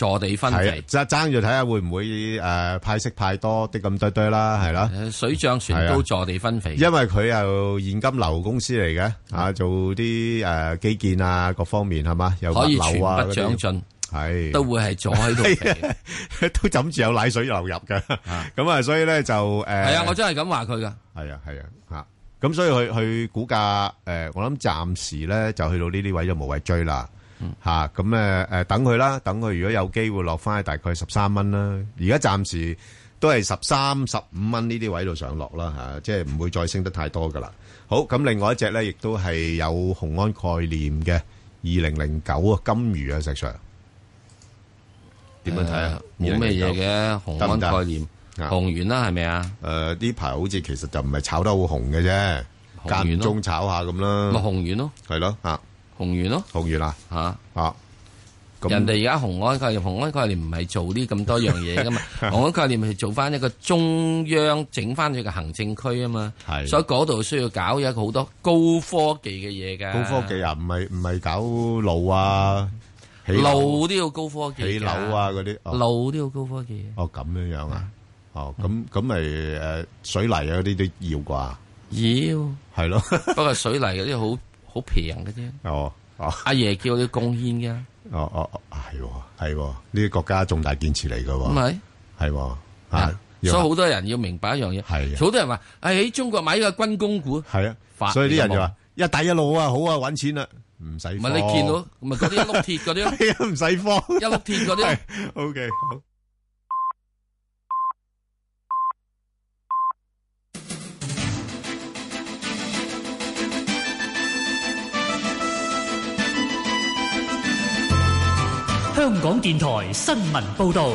坐地分肥， 爭住睇下會唔會派息派多啲咁堆啦，係啦。 水漲船高，坐地分肥。 因為佢又現金流公司嚟嘅，做啲基建啊各方面係嘛，又可以全不長進。係都會係坐喺度肥， 都枕住有奶水流入嘅，咁啊，所以咧就係啊，我真係咁話佢噶， 係啊吓，咁所以佢股價我諗暫時咧就去到呢啲位就無謂追啦，吓咁等佢啦，等佢如果有機會落翻去大概13蚊啦，而家暫時都係13、15蚊呢啲位度上落啦吓，即係唔會再升得太多噶啦。好，咁另外一隻咧亦都係有雄安概念嘅2009啊，金魚啊，石 Sir。點樣睇啊？ 冇咩嘢嘅，雄安概念紅完啦，係咪啊？ 呢排好似其實就唔係炒得好紅嘅啫，間中炒下咁啦。 咪紅完咯， 係咯吓， 紅完咯， 紅完啦吓。 人哋而家雄安概念唔係做啲咁多樣嘢噶嘛，雄安概念係做翻一個中央整翻佢個行政區啊嘛，所以嗰度需要搞一個好多高科技嘅嘢噶。 高科技啊，唔係搞路啊。 路都要高科技， 起樓啊嗰啲， 路都要高科技。 哦，咁樣樣啊，咁咪水泥啊嗰啲都要啩？ 要係咯， 不過水泥嗰啲好平嘅啫。阿爺叫你貢獻嘅。 係呢啲國家重大建設嚟噶。 唔係， 係所以好多人要明白一樣嘢。係，好多人話喺中國買呢個軍工股。係啊，所以啲人就話一帶一路啊，好啊，搵錢啦。唔使，唔係你見到，咪嗰啲一碌鐵嗰啲咯， 係啊，唔使慌， 一碌鐵嗰啲。 OK，好。 香港電台新聞報道。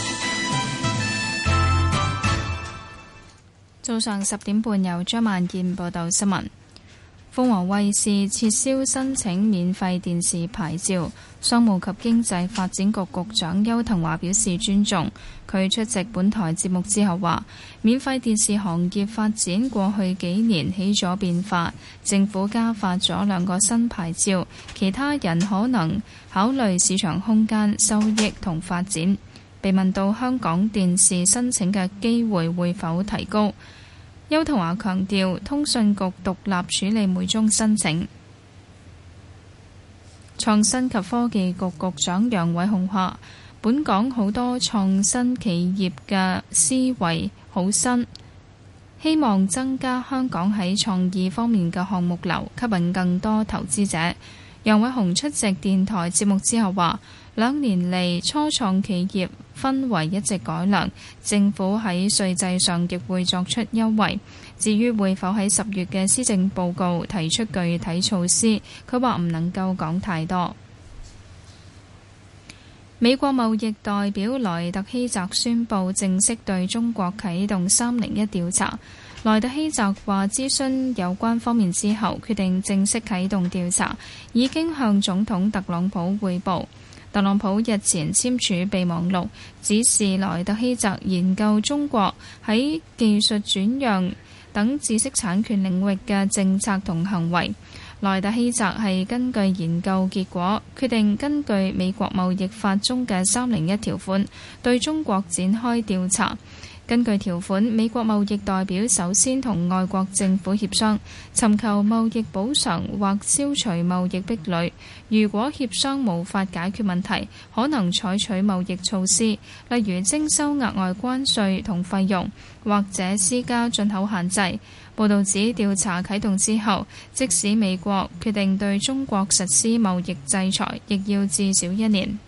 早上10點半，由張萬燕報道新聞。鳳凰衛視撤銷申請免費電視牌照，商務及經濟發展局局長邱騰華表示尊重。佢出席本台節目之後話，免費電視行業發展過去幾年起咗變化，政府加發咗2個新牌照，其他人可能考慮市場空間、收益同發展。被問到香港電視申請嘅機會會否提高，邱騰華強調，通訊局獨立處理每宗申請。創新及科技局局長楊偉雄話，本港好多創新企業嘅思維好新，希望增加香港喺創意方面嘅項目流，吸引更多投資者。楊偉雄出席電台節目之後話，2年嚟初創企業氛圍一直改良，政府喺稅制上亦會作出優惠。至於會否喺10月嘅施政報告提出具體措施，佢話唔能夠講太多。美國貿易代表萊特希澤宣布正式對中國啟動301調查。萊特希澤話諮詢有關方面之後，決定正式啟動調查，已經向總統特朗普匯報。特朗普日前簽署備忘錄，指示萊特希澤研究中國喺技術轉讓等知識產權領域嘅政策同行為。萊特希澤係根據研究結果，決定根據美國貿易法中嘅301條款，對中國展開調查。根據條款，美國貿易代表首先同外國政府協商，尋求貿易補償或消除貿易壁壘。如果協商無法解決問題，可能採取貿易措施，例如徵收額外關稅同費用，或者施加進口限制。報導指調查啟動之後，即使美國決定對中國實施貿易制裁，亦要至少1年。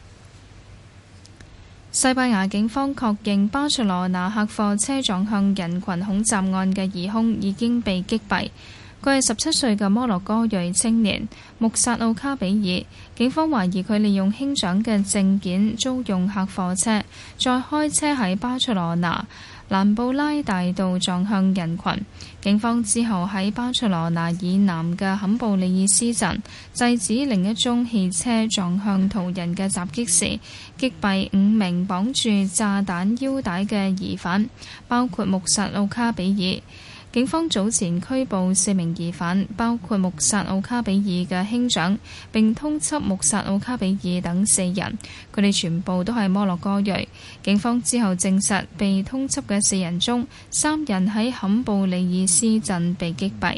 西班牙警方確認巴塞羅那客貨車撞向人群恐襲案嘅疑兇已經被擊斃。佢係17歲嘅摩洛哥裔青年穆薩奧卡比爾。警方懷疑佢利用兄長嘅證件租用客貨車，再開車喺巴塞羅那蘭布拉大道撞向人群。警方之後喺巴塞羅那以南嘅坎布里爾斯鎮制止另一宗汽車撞向途人嘅襲擊時，擊斃5名綁住炸彈腰帶嘅疑犯，包括穆薩奧卡比爾。 警方早前拘捕4名疑犯，包括穆薩奧卡比爾嘅兄長，並通緝穆薩奧卡比爾等4人，佢哋全部都係摩洛哥裔。警方之後證實，被通緝嘅4人中，3人喺坎布里爾斯鎮被擊斃。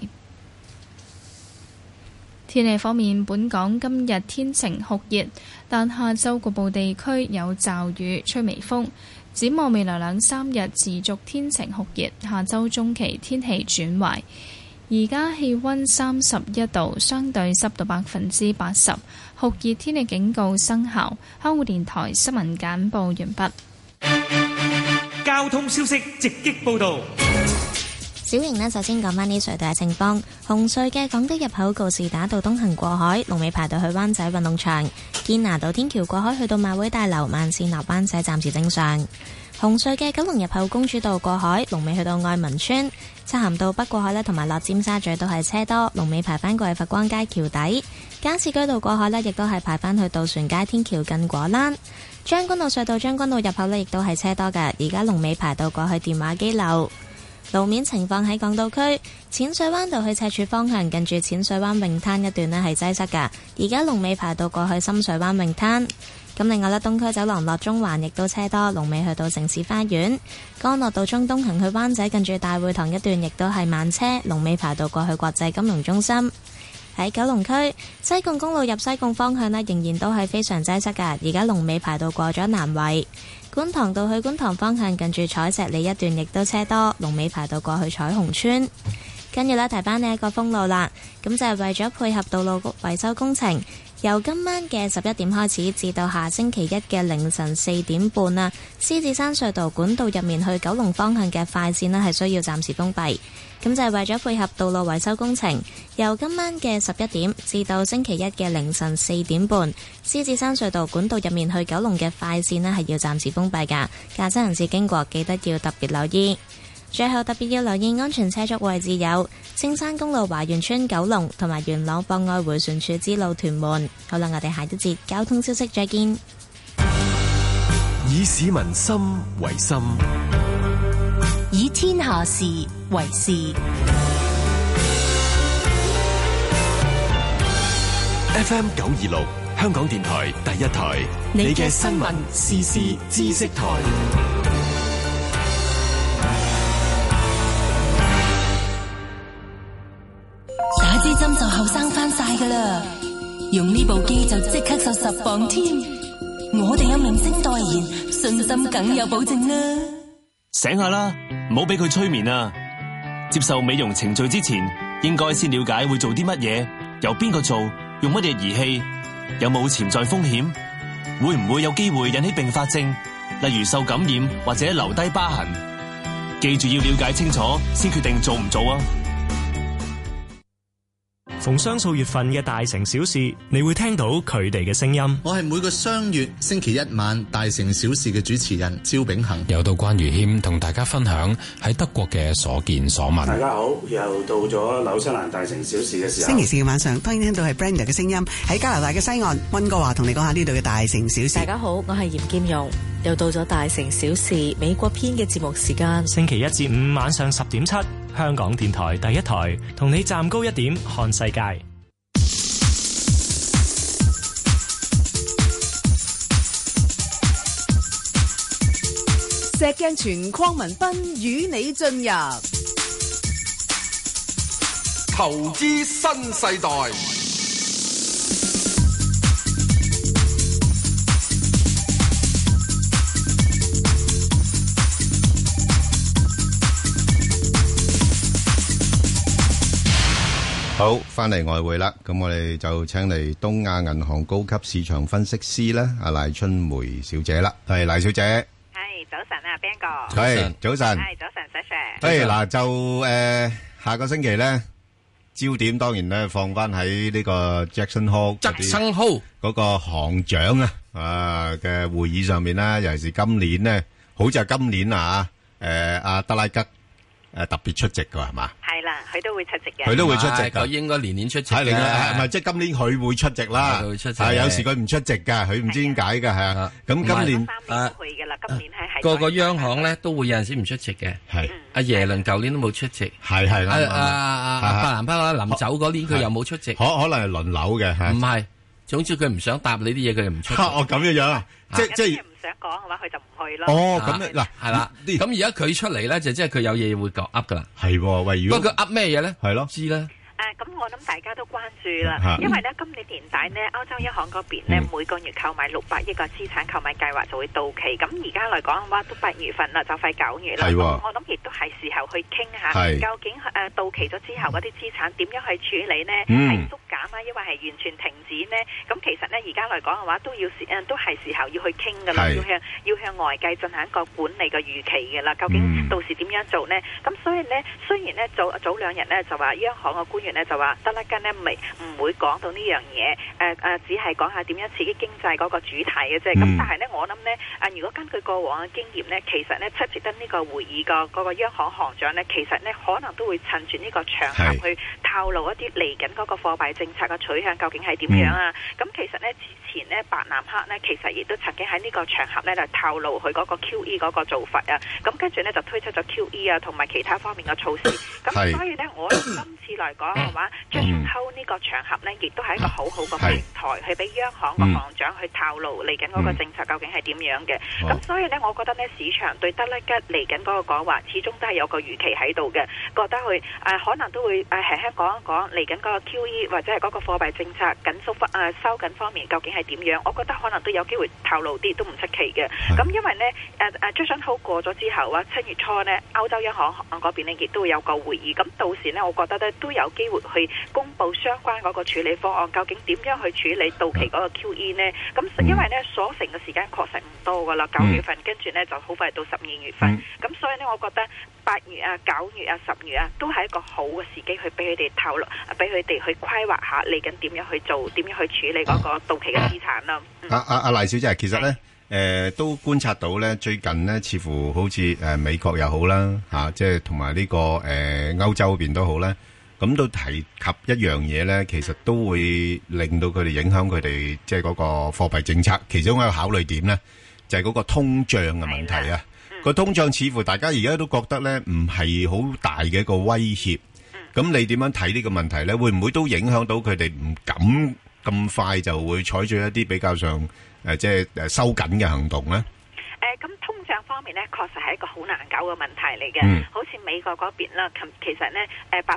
天氣方面，本港今日天晴酷熱，但下晝局部地區有驟雨，吹微風。展望未來2-3日持續天晴酷熱，下週中期天氣轉壞。而家氣溫31度，相對濕度80%，酷熱天氣警告生效。香港電台新聞簡報完畢。 交通消息直擊報道。 小瑩呢，首先講返啲隧道嘅情況。紅隧嘅港島入口告士打道東行過海，龍尾排到去灣仔運動場；堅拿道天橋過海去到馬會大樓，慢線落灣仔暫時正常。紅隧嘅九龍入口公主道過海，龍尾去到愛民村；漆咸道北過海呢，同埋落尖沙咀都係車多，龍尾排返過去佛光街橋底。加士居道過海呢，亦都係排返去渡船街天橋近果欄。將軍澳隧道將軍澳入口呢，亦都係車多㗎，而家龍尾排到過去電話機樓。路面情況喺港島區淺水灣道去赤柱方向，近住淺水灣泳灘一段呢係擠塞㗎，而家龍尾排到過去深水灣泳灘。咁另外呢，東區走廊落中環亦都車多，龍尾去到城市花園。干諾道中東行去灣仔，近住大會堂一段亦都係慢車，龍尾排到過去國際金融中心。喺九龍區西貢公路入西貢方向呢，仍然都係非常擠塞㗎，而家龍尾排到過咗南圍。觀塘道去觀塘方向，近住彩石里一段亦都車多，龍尾排到過去彩虹村。跟住呢，提翻呢一個封路啦，咁就係為咗配合道路維修工程，由今晚嘅11點開始至到下星期一嘅凌晨4點半啦，獅子山隧道管道入面去九龍方向嘅快線呢係需要暫時封閉。咁就係為咗配合道路維修工程，由今晚嘅11點至到星期一嘅凌晨4點半，獅子山隧道管道入面去九龍嘅快線呢係要暫時封閉㗎，駕駛人士經過記得要特別留意。最後特別要留意安全車速位置有青山公路華園村九龍同埋元朗博愛迴旋處之路屯門。好啦，我哋下一節交通消息再見。 以市民心為心， 以天下事為事。 FM 926香港電台第一台，你嘅新聞時事知識台。 打支針就後生翻晒噶啦，用呢部機就即刻瘦10磅添。我哋有明星代言，信心梗有保證啦。 醒下啦，唔好俾佢催眠啊！接受美容程序之前，應該先了解會做啲乜嘢，由邊個做，用乜嘢儀器，有冇潛在風險，會唔會有機會引起併發症，例如受感染或者留低疤痕。記住要了解清楚，先決定做唔做啊！ 逢雙數月份嘅大城小事，你會聽到佢哋嘅聲音。 我係每個雙月星期一晚大城小事嘅主持人趙炳恒。 又到關於謙同大家分享喺德國嘅所見所聞。 大家好，又到咗紐西蘭大城小事嘅時候。 星期四嘅晚上，當然聽到係 Brenda 嘅聲音喺加拿大嘅西岸。溫哥華同你講下呢度嘅大城小事。 大家好，我係嚴劍蓉。又到咗大城小事美國篇嘅節目時間。 星期一至五晚上10.7，香港電台第一台，同你站高一點看世界。 石鏡泉鄺民彬與你進入投資新世代。 好，翻嚟外匯啦，咁我哋就請嚟東亞銀行高級市場分析師咧，阿賴春梅小姐啦，係賴小姐。 係早晨啊 ，Ben 哥。 係早晨。 係早晨 ，Sir。 嗱就下個星期咧，焦點當然咧放翻喺呢個 Jackson Hole 嗰個行長嘅會議上面啦，尤其是今年咧，好似係今年阿德拉吉特別出席噶係嘛？ 係啦，佢都會出席嘅。 佢都會出席㗎， 佢應該年年出席。 係咪即係今年佢會出席啦？ 佢會出席。 係有時佢唔出席㗎，佢唔知點解㗎，係啊。咁今年去㗎啦，今年係個個央行咧都會有陣時唔出席嘅。 係阿耶倫舊年都冇出席。 係阿伯南巴臨走嗰年佢又冇出席。 可能係輪流嘅。 唔係，總之佢唔想答你啲嘢，佢就唔出席。 哦，咁樣啊，即係。 想講嘅話，佢就唔去咯。 哦，咁嗱， 係啦。咁而家佢出嚟咧，就即係佢有嘢會噏噶啦。 係喎，喂，如果不過佢噏咩嘢咧？ 係咯， 知啦。 咁我諗大家都關注啦，因為咧今年年底呢，歐洲央行嗰邊呢，每個月購買600億個資產購買計劃就會到期。咁而家嚟講嘅話，都8月份啦，就快9月啦。我諗亦都係時候去傾下，究竟到期咗之後嗰啲資產點樣去處理呢？係縮減啊，抑或係完全停止呢？咁其實呢，而家嚟講嘅話，都係時候要去傾噶啦，要向外界進行一個管理嘅預期嘅啦。究竟到時點樣做呢？咁所以呢，雖然呢早2日呢就話央行嘅官員呢就話德拉吉呢唔會講到呢樣嘢，只係講下點樣刺激經濟嗰個主題嘅啫。咁但係呢，我諗呢，如果根據過往嘅經驗呢，其實呢，出席得呢個會議嗰個央行行長呢，其實呢可能都會趁住呢個場合去透露一啲嚟緊嗰個貨幣政策嘅取向究竟係點樣啊。咁其實呢，之前呢，伯南克呢，其實亦都曾經喺呢個場合呢，就透露佢嗰個 QE 嗰個做法啊。咁跟住呢，就推出咗 QE 啊同埋其他方面嘅措施。咁所以呢，我今次嚟講嘅話，Jackson Hole 呢個場合呢，亦都係一個好好嘅平台，去俾央行個行長去透露嚟緊嗰個政策究竟係點樣嘅。咁所以呢，我覺得呢，市場對德拉吉嚟緊嗰個講話，始終都係有個預期喺度嘅，覺得佢可能都會輕輕講一講嚟緊嗰個 QE 或者係嗰個貨幣政策緊縮收緊方面究竟係點樣。我覺得可能都有機會透露啲，都唔出奇嘅。咁因為呢Jackson Hole 過咗之後7月初呢，歐洲央行嗰邊呢亦都會有個會議。咁到時呢，我覺得呢都有機會去公布相關嗰個處理方案，究竟點樣去處理到期嗰個 QE 呢？咁因為呢，所剩嘅時間確實唔多噶啦，9月份跟住呢就好快到12月份。咁所以呢，我覺得8月啊、9月啊、10月啊，都係一個好嘅時機去俾佢哋透露，俾佢哋去規劃下嚟緊點樣去做，點樣去處理嗰個到期嘅資產啦。 阿賴小姐，其實呢，都觀察到呢，最近呢，似乎好似美國又好啦，即係同埋呢個歐洲嗰邊都好啦。咁都提及一樣嘢咧，其實都會令到佢哋影響佢哋即係嗰個貨幣政策。其中一個考慮點咧，就係嗰個通脹嘅問題啊。個通脹似乎大家而家都覺得咧，唔係好大嘅一個威脅。咁你點樣睇呢個問題咧？會唔會都影響到佢哋唔敢咁快就會採取一啲比較上即係收緊嘅行動咧？ 咁通脹方面呢，確實係一個好難搞嘅問題嚟嘅。好似美國嗰邊啦，其實呢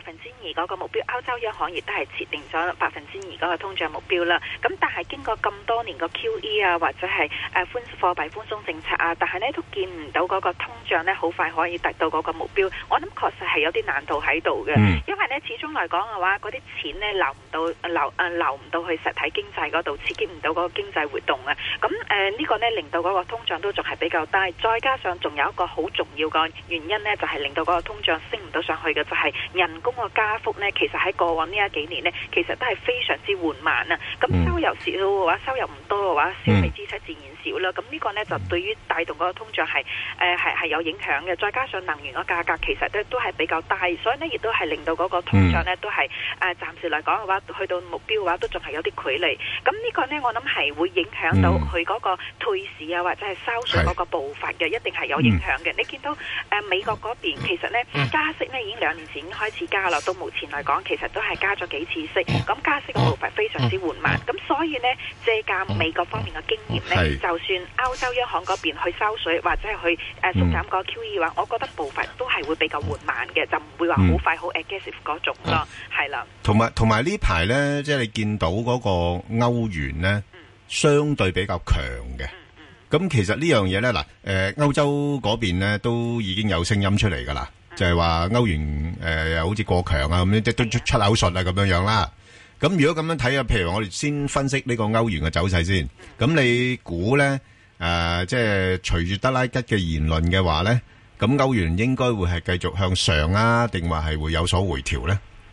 2%嗰個目標，歐洲央行亦都係設定咗2%嗰個通脹目標啦。咁但係經過咁多年個 QE 啊，或者係貨幣寬鬆政策啊，但係呢都見唔到嗰個通脹呢好快可以達到嗰個目標。我諗確實係有啲難度喺度嘅，因為呢始終嚟講嘅話，嗰啲錢呢流唔到去實體經濟嗰度，刺激唔到嗰個經濟活動啊。咁呢個呢令到嗰個通脹都仲係比較低，再加上仲有一個好重要嘅原因呢，就係令到嗰個通脹升唔到上去嘅，就係人工嘅加幅呢。其實喺過往呢幾年呢，其實都係非常之緩慢啊。咁收入少嘅話，收入唔多嘅話，消費支出自然少啦。咁呢個呢，就對於帶動嗰個通脹係有影響嘅。再加上能源嘅價格其實都係比較低，所以呢亦都係令到嗰個通脹呢都係暫時嚟講嘅話，去到目標嘅話都仲係有啲距離。咁呢個呢，我諗係會影響到佢嗰個退市啊，或者係收水嗰個步伐嘅，一定係有影響嘅。你見到美國嗰邊其實呢加息呢已經2年前已經開始加啦，到目前嚟講其實都係加咗幾次息，咁加息嘅步伐非常之緩慢。咁所以呢，借鑑美國方面嘅經驗呢，就算歐洲央行嗰邊去收水或者係去縮減個 QE 嘅話，我覺得步伐都係會比較緩慢嘅，就唔會話好快好 aggressive 嗰種咯，係啦。同埋呢排呢，即係你見到嗰個歐元呢，相對比較強嘅。咁其實呢樣嘢咧，嗱，歐洲嗰邊咧都已經有聲音出嚟噶啦，就係話歐元又好似過強啊，咁樣即都出口術啊咁樣樣啦。咁如果咁樣睇啊，譬如我哋先分析呢個歐元嘅走勢先。咁你估咧即係隨住德拉吉嘅言論嘅話咧，咁歐元應該會係繼續向上啊，定話係會有所回調咧？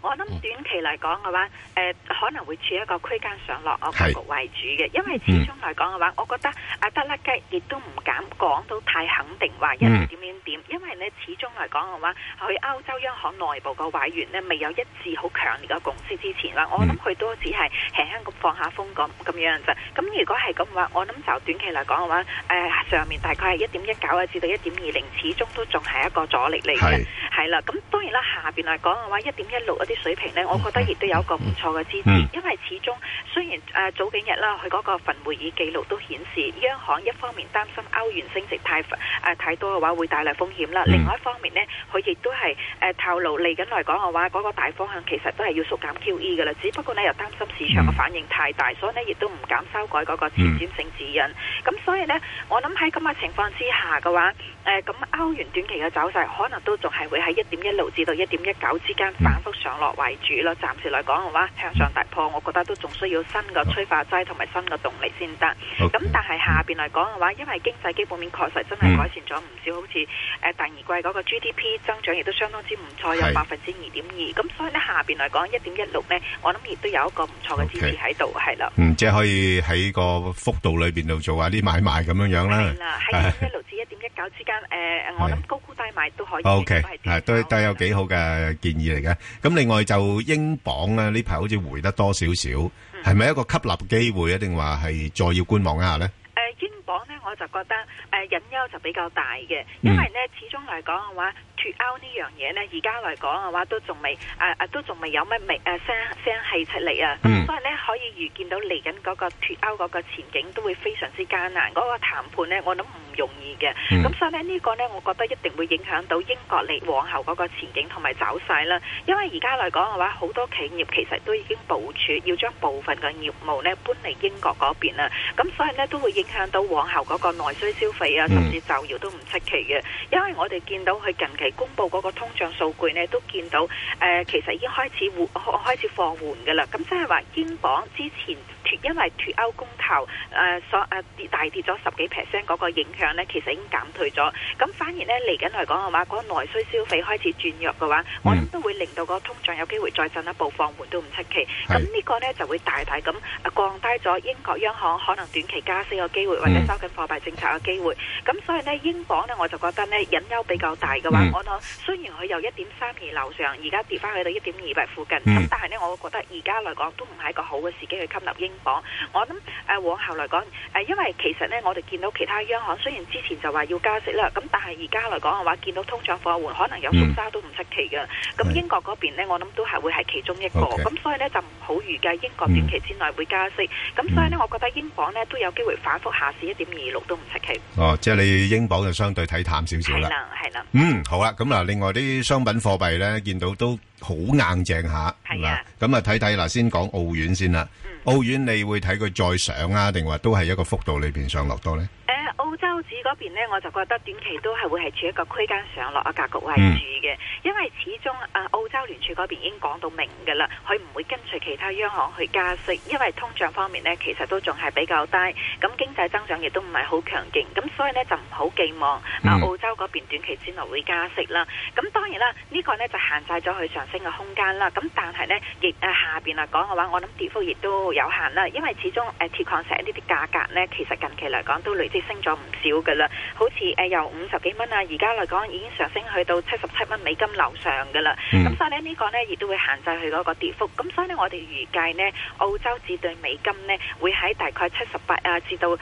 我諗短期嚟講嘅話，可能會處一個區間上落格局為主嘅，因為始終嚟講嘅話，我覺得德拉吉亦都唔敢講到太肯定話一點點，因為呢始終嚟講嘅話，佢歐洲央行內部個委員呢未有一致好強烈嘅共識之前啦，我諗佢都只係輕輕咁放下風咁樣啫。咁如果係咁嘅話，我諗就短期嚟講嘅話，上面大概係1.19啊至到1.20，始終都仲係一個阻力嚟嘅，係啦。咁當然啦，下邊嚟講嘅話，1.16一啲水平呢，我覺得亦都有一個唔錯嘅支持，因為始終雖然早幾日啦，佢嗰個份會議記錄都顯示，央行一方面擔心歐元升值太多嘅話會帶來風險啦，另外一方面呢，佢亦都係透露嚟緊嚟講嘅話，嗰個大方向其實都係要縮減 QE 嘅啦，只不過呢又擔心市場嘅反應太大，所以呢亦都唔敢修改嗰個前瞻性指引。咁所以呢，我諗喺咁嘅情況之下嘅話，咁歐元短期嘅走勢可能都仲係會喺1.16至到1.19之間反覆上落為主咯。暫時嚟講嘅話，向上突破，我覺得都仲需要新嘅催化劑同埋新嘅動力先得。咁但係下邊嚟講嘅話，因為經濟基本面確實真係改善咗唔少，好似第二季嗰個 GDP 增長亦都相當之唔錯，有2.2%。咁所以呢，下邊嚟講1.16呢，我諗亦都有一個唔錯嘅支持喺度，係啦。 即係可以喺個幅度裏邊度做下啲買賣咁樣樣啦。 係啦，喺1.16至1.19之間，我諗高沽低買都可以。 OK， 都有幾好嘅建議嚟嘅。咁另外就英鎊咧，呢排好似回得多少少，係咪一個吸納機會，一定話係再要觀望一下呢？ 英鎊呢，我就覺得隱憂就比較大嘅，因為呢始終嚟講嘅話，脱歐呢樣嘢呢，而家嚟講嘅話都仲未有乜聲氣出嚟啊，咁所以呢，可以預見到嚟緊嗰個脱歐嗰個前景都會非常之艱難，嗰個談判呢，我諗唔容易嘅，咁所以呢，呢個呢，我覺得一定會影響到英國嚟往後嗰個前景同埋走勢啦。因為而家嚟講嘅話，好多企業其實都已經部署要將部分嘅業務呢搬嚟英國嗰邊啦，咁所以呢，都會影響到往後嗰個內需消費啊，甚至就業都唔出奇嘅。因為我哋見到佢近期公布嗰個通脹數據呢，都見到其實已經開始放緩嘅啦。咁即係話英鎊之前因為脱歐公投大跌咗10幾%嗰個影響呢，其實已經減退咗。咁反而呢，嚟緊嚟講嘅話，嗰個內需消費開始轉弱嘅話，我諗都會令到個通脹有機會再進一步放緩都唔出奇。咁呢個呢，就會大大咁降低咗英國央行可能短期加息嘅機會，或者收緊貨幣政策嘅機會。咁所以呢，英鎊呢，我就覺得呢，隱憂比較大嘅話，我諗雖然佢由1.32樓上而家跌翻去到1.28附近，咁但係呢，我覺得而家嚟講都唔係一個好嘅時機去吸納英鎊。我諗往後嚟講因為其實呢，我哋見到其他央行雖然之前就話要加息啦，咁但係而家嚟講嘅話，見到通脹放緩，可能有縮沙都唔出奇嘅。咁英國嗰邊呢，我諗都係會係其中一個。咁所以呢，就唔好預計英國短期之內會加息。咁所以呢，我覺得英鎊呢都有機會反覆下試1.26都唔出奇。 即係你英鎊就相對睇淡少少啦。 係啦。 好啦，咁嗱，另外啲商品貨幣呢，見到都好硬淨下。係啊。咁啊，睇睇嗱，先講澳元先啦。澳元你會睇佢再上啊，定話都係一個幅度裏邊上落多呢？ 澳洲紙嗰邊呢，我就覺得短期都係會係處一個區間上落嘅格局為主嘅，因為始終澳洲聯儲嗰邊已經講到明㗎啦，佢唔會跟隨其他央行去加息，因為通脹方面呢，其實都仲係比較低，咁經濟增長亦都唔係好強勁，咁所以呢，就唔好寄望澳洲嗰邊短期之內會加息啦。咁當然啦，呢個呢就限制咗佢上升嘅空間啦。咁但係呢，亦下邊嚟講嘅話，我諗跌幅亦都有限啦，因為始終鐵礦石呢啲價格呢，其實近期嚟講都累積升咗唔少噶啦，好似由50幾蚊啊，而家嚟講已經上升去到77蚊美金樓上噶啦。咁所以呢個呢亦都會限制佢嗰個跌幅。咁所以呢，我哋預計呢澳洲紙對美金呢會喺大概78啊至到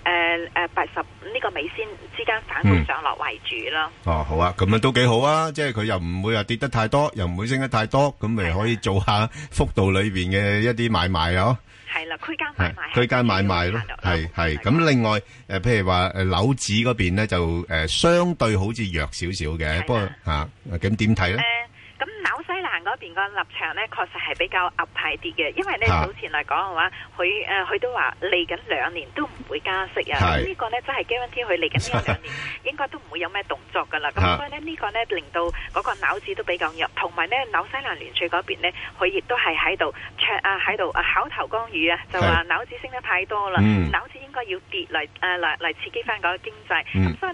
80呢個美仙之間反覆上落為主咯。 好啊，咁樣都幾好啊，即係佢又唔會話跌得太多，又唔會升得太多，咁咪可以做下幅度裏邊嘅一啲買賣咯。 係啦，區間買賣， 區間買賣咯，係咁。另外譬如話紐紙嗰邊咧，就相對好似弱少少嘅，不過咁點睇咧？ 咁紐西蘭嗰邊個立場呢，確實係比較鴿派啲嘅，因為呢早前嚟講嘅話，佢都話嚟緊2年都唔會加息啊。咁呢個呢真係 guarantee 佢嚟緊呢2年應該都唔會有咩動作噶啦。咁所以呢，呢個呢令到嗰個紐紙都比較弱，同埋呢紐西蘭聯儲嗰邊呢，佢亦都係喺度口頭干預啊，就話紐紙升得太多啦，紐紙應該要跌嚟刺激翻嗰個經濟。咁所以呢，紐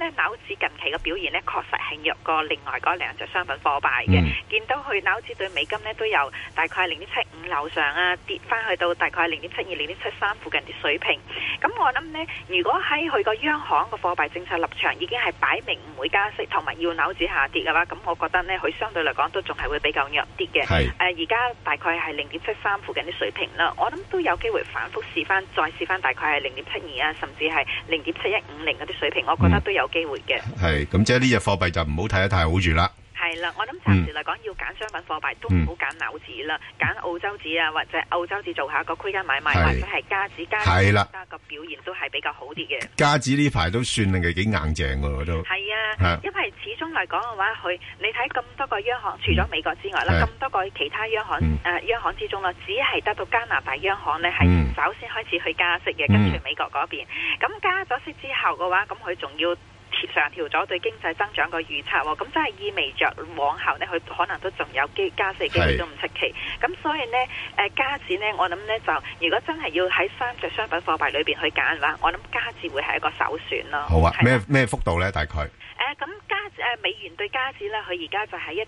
紙近期嘅表現呢，確實係弱過另外嗰兩隻商品貨幣嘅。見到佢紐紙對美金呢，都有大概0.75樓上啊，跌翻去到大概0.72、0.73附近啲水平。咁我諗呢，如果喺佢個央行個貨幣政策立場已經係擺明唔會加息，同埋要紐紙下跌嘅話，咁我覺得呢，佢相對嚟講都仲係會比較弱啲嘅。而家大概係0.73附近啲水平啦，我諗都有機會反覆試翻，再試翻大概係0.72啊，甚至係0.7150嗰啲水平，我覺得都有機會嘅。 係咁，即係呢隻貨幣就唔好睇得太好住啦。 係啦，我諗暫時嚟講要揀商品貨幣都唔好揀紐紙啦，揀澳洲紙啊，或者澳洲紙做下個區間買賣，或者係加紙而家個表現都係比較好啲嘅。 加紙呢排都算係幾硬淨喎，都係啊，因為始終嚟講嘅話，你睇咁多個央行，除咗美國之外啦，咁多個其他央行央行之中啦，只係得到加拿大央行呢係首先開始去加息嘅，跟住美國嗰邊，咁加咗息之後嘅話，咁佢仲要上調咗對經濟增長個預測喎，咁真係意味着往後呢，佢可能都仲有加息機會都唔出奇。咁所以呢，加紙呢，我諗呢，就如果真係要喺三隻商品貨幣裏邊去揀嘅話，我諗加紙會係一個首選咯。 好啊，咩幅度呢？大概？ 咁美元對加紙呢，佢而家就係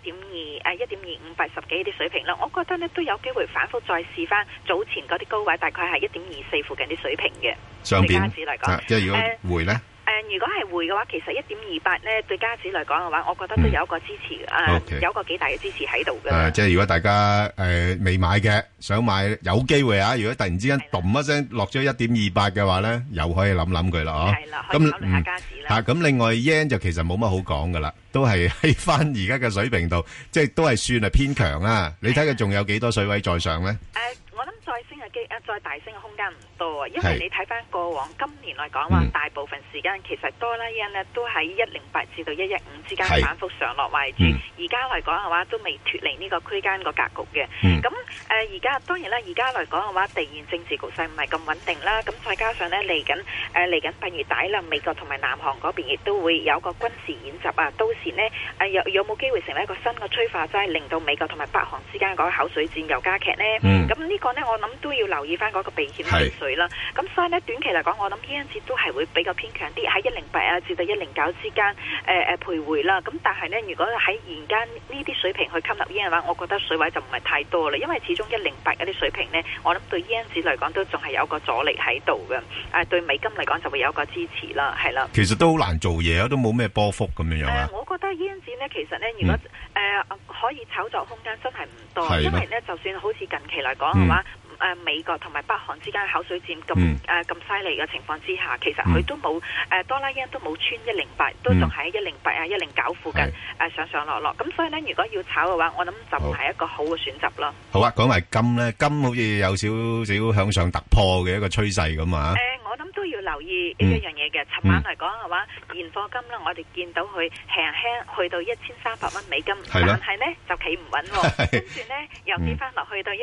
1.2580幾啲水平啦。我覺得呢，都有機會反覆再試翻早前嗰啲高位，大概係1.24附近啲水平嘅。 上邊加紙嚟講， 即係如果回呢？ 如果係匯嘅話，其實1.28呢對加紙嚟講嘅話，我覺得都有一個支持，有一個幾大嘅支持喺度嘅。 即係如果大家未買嘅，想買有機會啊！如果突然之間咚一聲落咗1.28嘅話咧，又可以諗諗佢啦，嗬。係啦，可以考慮下加紙啦。咁另外 yen 就其實冇乜好講噶啦，都係喺翻而家嘅水平度，即係都係算係偏強啦。你睇佢仲有幾多水位再上咧？ 我諗再大升嘅空間唔多啊，因為你睇翻過往今年嚟講話，大部分時間其實多啦yen呢都喺108至到115之間反覆上落為主。而家嚟講嘅話，都未脫離呢個區間個格局嘅。咁而家當然啦，而家嚟講嘅話，地緣政治局勢唔係咁穩定啦。咁再加上呢，嚟緊8月底啦，美國同埋南韓嗰邊亦都會有個軍事演習啊。到時呢，有冇機會成為一個新嘅催化劑，令到美國同埋北韓之間嗰個口水戰又加劇呢？咁呢個呢，我諗都要留意翻嗰個避險情緒啦。咁所以呢，短期嚟講，我諗yen紙都係會比較偏強啲，喺108啊至到109之間徘徊啦。咁但係呢，如果喺現間呢啲水平去吸納yen嘅話，我覺得水位就唔係太多啦。因為始終108嗰啲水平呢，我諗對yen紙嚟講都仲係有個阻力喺度嘅。對美金嚟講就會有個支持啦，係啦。 其實都好難做嘢啊，都冇咩波幅咁樣啊。 我覺得yen紙呢，其實呢，如果可以炒作空間真係唔多，因為呢，就算好似近期嚟講嘅話。美國同埋北韓之間嘅口水戰咁犀利嘅情況之下，其實佢都冇多啦yen都冇穿108，都仲喺108啊109附近上落。咁所以呢，如果要炒嘅話，我諗就唔係一個好嘅選擇咯。 好啊，講埋金咧，金好似有少少向上突破嘅一個趨勢咁啊。 我諗都要留意一樣嘢嘅。尋晚嚟講嘅話，現貨金啦，我哋見到佢輕輕去到1300蚊美金，但係呢就企唔穩喎，跟住呢又跌翻落去到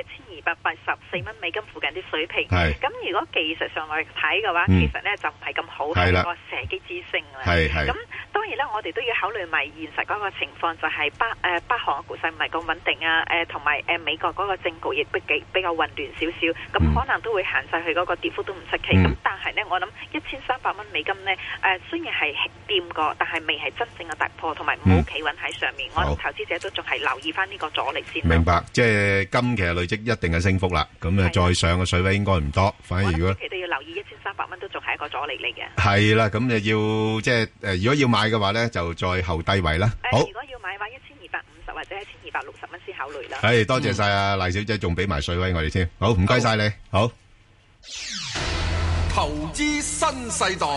1284蚊美金附近啲水平。咁如果技術上嚟睇嘅話，其實呢就唔係咁好，係一個射擊之星啦。咁當然啦，我哋都要考慮埋現實嗰個情況，就係北韓嘅局勢唔係咁穩定啊，同埋美國嗰個政局亦比較混亂少少，咁可能都會限制佢嗰個跌幅都唔出奇。咁但係呢，我諗1300蚊美金呢，雖然係掂過，但係未係真正嘅突破，同埋唔好企穩喺上面。我諗投資者都仲係留意翻呢個阻力先。 明白，即係金其實累積一定嘅升幅啦。咁再上嘅水位應該唔多，反而如果其實要留意1300蚊都仲係一個阻力嚟嘅。 係啦，咁就要即係如果要買嘅話咧，就再後低位啦。好， 如果要買嘅話，1250或者1260蚊先考慮啦。 係，多謝晒啊黎小姐，仲俾埋水位我哋先。好，唔該晒你。好， 投資新世代。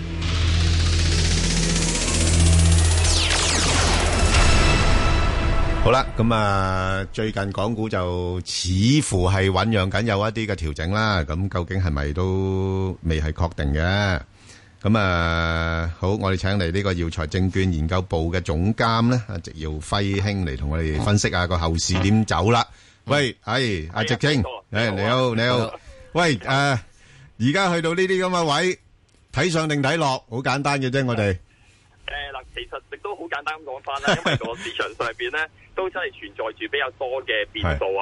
好啦，咁啊，最近港股就似乎係醞釀緊有一啲嘅調整啦。咁究竟係咪都未係確定嘅？咁啊，好，我哋請嚟呢個耀才證券研究部嘅總監咧，阿植耀輝兄嚟同我哋分析下個後市點走啦。喂，係阿植兄，你好，你好。喂，而家去到呢啲咁嘅位，睇上定睇落，好簡單嘅啫，我哋。 嗱，其實亦都好簡單咁講翻啦，因為個市場上邊咧都真係存在住比較多嘅變數啊！嗱，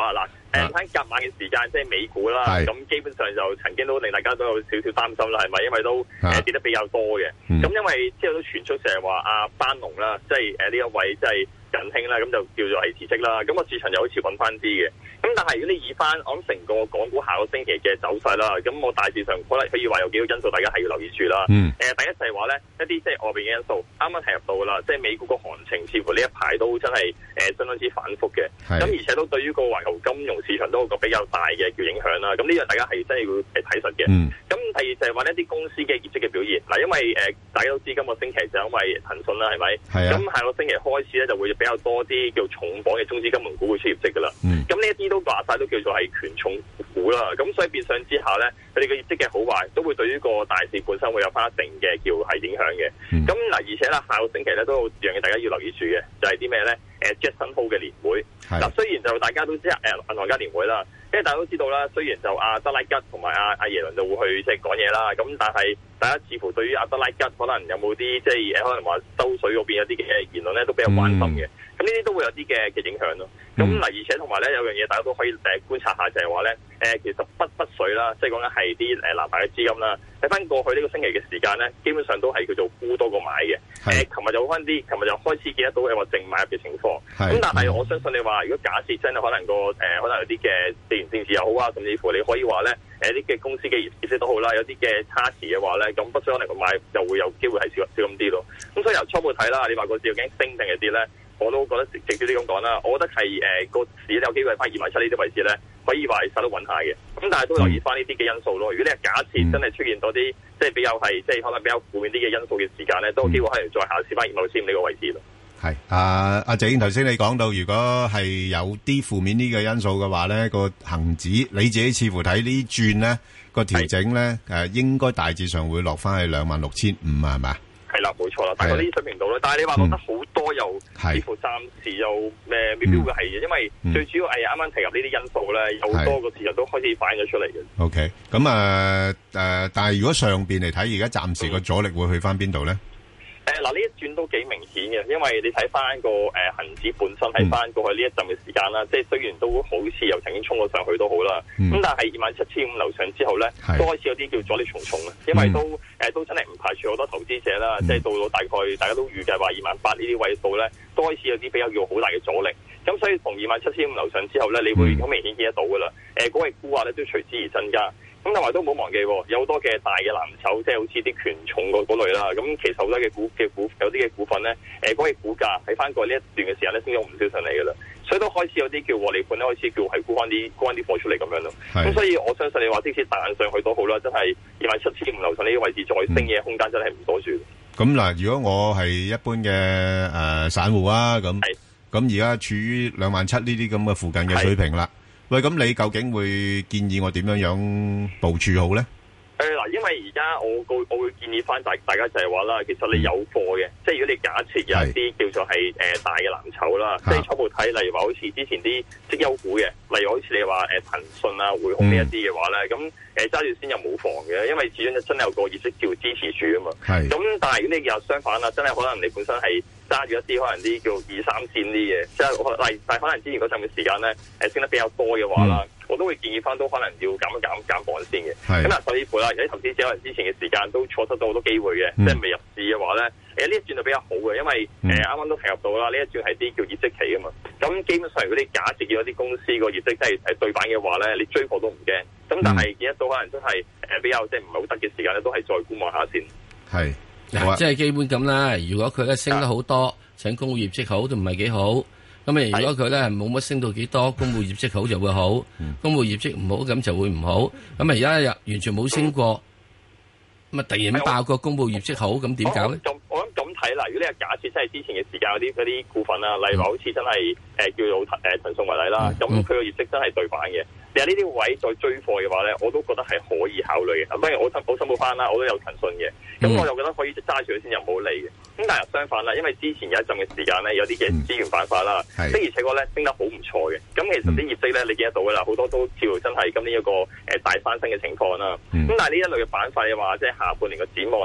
睇隔晚嘅時間，即係美股啦，咁基本上就曾經都令大家都有少少擔心啦，係咪？因為都跌得比較多嘅。咁因為之後都傳出成日話阿班農啦，即係呢一位即係近興啦，咁就叫做係辭職啦。咁個市場又好似穩翻啲嘅。咁但係如果你以翻我諗成個港股下個星期嘅走勢啦，咁我大致上可以話有幾個因素，大家係要留意住啦。第一就係話咧一啲即係外邊嘅因素，啱啱提入到啦，即係美股個行情似乎呢一排都真係相當之反覆嘅。咁而且都對於個環球金融市場都有個比較大嘅叫影響啦。咁呢樣大家係真係要睇實嘅。咁第二就係話呢啲公司嘅業績嘅表現嗱，因為大家都知今個星期就因為騰訊啦，係咪？咁下個星期開始咧就會比較多啲叫重磅嘅中資金融股會出業績噶啦。咁呢一啲都話晒都叫做係權重股啦。咁所以變相之下咧，佢哋嘅業績嘅好壞都會對於個大市本身會有翻一定嘅叫係影響嘅。咁嗱，而且啦，下個星期咧都有樣嘢大家要留意住嘅，就係啲咩咧？Jackson Hole 嘅年會。嗱，雖然就大家都知銀行家年會啦，因為大家都知道啦，雖然就阿德拉吉同埋阿耶倫就會去即係講嘢啦，咁但係大家似乎對於阿德拉吉可能有冇啲即係可能話收水嗰邊有啲嘅言論咧都比較關心嘅。咁呢啲都會有啲嘅影響咯。咁嗱，而且同埋咧有樣嘢大家都可以觀察下，就係話咧其實北水啦，即係講緊係啲南下嘅資金啦，睇翻過去呢個星期嘅時間咧，基本上都係叫做沽多過買嘅。琴日就好翻啲，琴日就開始見得到係話淨買入嘅情況。咁但係我相信你話，如果假設真係可能可能有啲嘅地緣政治又好啊，甚至乎你可以話咧啲嘅公司嘅業績都好啦，有啲嘅差池嘅話咧，咁北水可能個買就會有機會係少咁啲咯。咁所以由初步睇啦，你話個市究竟升定係跌咧？我都覺得直接啲咁講啦，我覺得係個市有機會翻27,000呢啲位置咧，可以話係實得穩下嘅。咁但係都留意翻呢啲嘅因素咯。如果你係假設真係出現多啲即係比較係即係可能比較負面啲嘅因素嘅時間咧，都有機會可能再下試翻27,000呢個位置咯。係阿謝英頭先你講到，如果係有啲負面啲嘅因素嘅話咧，個恆指你自己似乎睇呢轉咧個調整咧應該大致上會落翻去26,500啊，係咪？ 係啦，冇錯啦，大概呢啲水平度啦。但係你話落得好多又似乎暫時又未必會係嘅，因為最主要係啱啱提及呢啲因素咧，有好多個市場都開始反映咗出嚟嘅。 OK， 咁但係如果上邊嚟睇，而家暫時個阻力會去翻邊度咧？ 嗱，呢一轉都幾明顯嘅，因為你睇翻個恆指本身喺翻過去呢一陣嘅時間啦，即係雖然都好似又曾經衝過上去都好啦，咁但係27,500樓上之後咧，都開始有啲叫阻力重重啊，因為都真係唔排除好多投資者啦，即係到大概大家都預計話28,000呢啲位數咧，都開始有啲比較叫好大嘅阻力。咁所以從27,500樓上之後咧，你會好明顯見得到噶啦，嗰個沽壓咧都隨之而增加。咁但係都唔好忘記，有好多嘅大嘅藍籌，即係好似啲權重嗰類啦。咁其實好多嘅股有啲嘅股份咧，嗰個股價喺翻過呢一段嘅時間咧，升咗唔少上嚟㗎啦。所以都開始有啲叫獲利盤咧，開始叫係沽翻啲貨出嚟咁樣咯。咁所以我相信你話即使彈上去都好啦，真係27,500樓上呢啲位置再升嘅空間真係唔多住。咁嗱，如果我係一般嘅散戶啊，咁而家處於27,000呢啲咁嘅附近嘅水平啦。喂，咁你究竟會建議我點樣部署好咧？ 嗱，因為而家我會建議翻大家就係話啦，其實你有貨嘅，即係如果你假設有一啲叫做係大嘅藍籌啦，即係初步睇，例如話好似之前啲績優股嘅，例如好似你話騰訊啊、匯控呢一啲嘅話咧，咁揸住先又冇妨嘅，因為始終真係有個業績叫支持住啊嘛。咁但係如果你又相反啦，真係可能你本身係揸住一啲可能啲叫2-3線啲嘅，即係但係可能之前嗰陣嘅時間咧升得比較多嘅話啦，我都會建議翻都可能要減磅先嘅。咁嗱，甚至乎啦，有啲投資者可能之前嘅時間都錯失到好多機會嘅，即係未入市嘅話咧，呢一轉就比較好嘅，因為啱啱都提及到啦，呢一轉係啲叫業績期啊嘛。咁基本上如果你假設見到啲公司個業績真係對版嘅話咧，你追貨都唔驚。咁但係見得到可能真係比較即係唔係好得嘅時間咧，都係再觀望下先。係嗱，即係基本咁啦。如果佢咧升得好多，請公布業績好都唔係幾好。咁如果佢咧冇乜升到幾多，公布業績好就會好，公布業績唔好咁就會唔好。咁而家又完全冇升過，咁突然爆個公布業績好，咁點搞咧？ 我諗咁睇啦，如果你係假設真係之前嘅時間嗰啲股份啦，例如話好似真係叫做騰訊為例啦，咁佢個業績真係對版嘅。你喺呢啲位再追貨嘅話咧，我都覺得係可以考慮嘅。咁當然我申報翻啦，我都有騰訊嘅，咁我就覺得可以揸住佢先，又冇理嘅。咁但係相反啦，因為之前有一陣嘅時間咧，有啲嘅資源板塊啦，的而且確咧升得好唔錯嘅。咁其實啲業績咧，你見得到噶啦，好多都似乎真係今年一個大翻身嘅情況啦。咁但係呢一類嘅板塊嘅話，即係下半年嘅展望咧，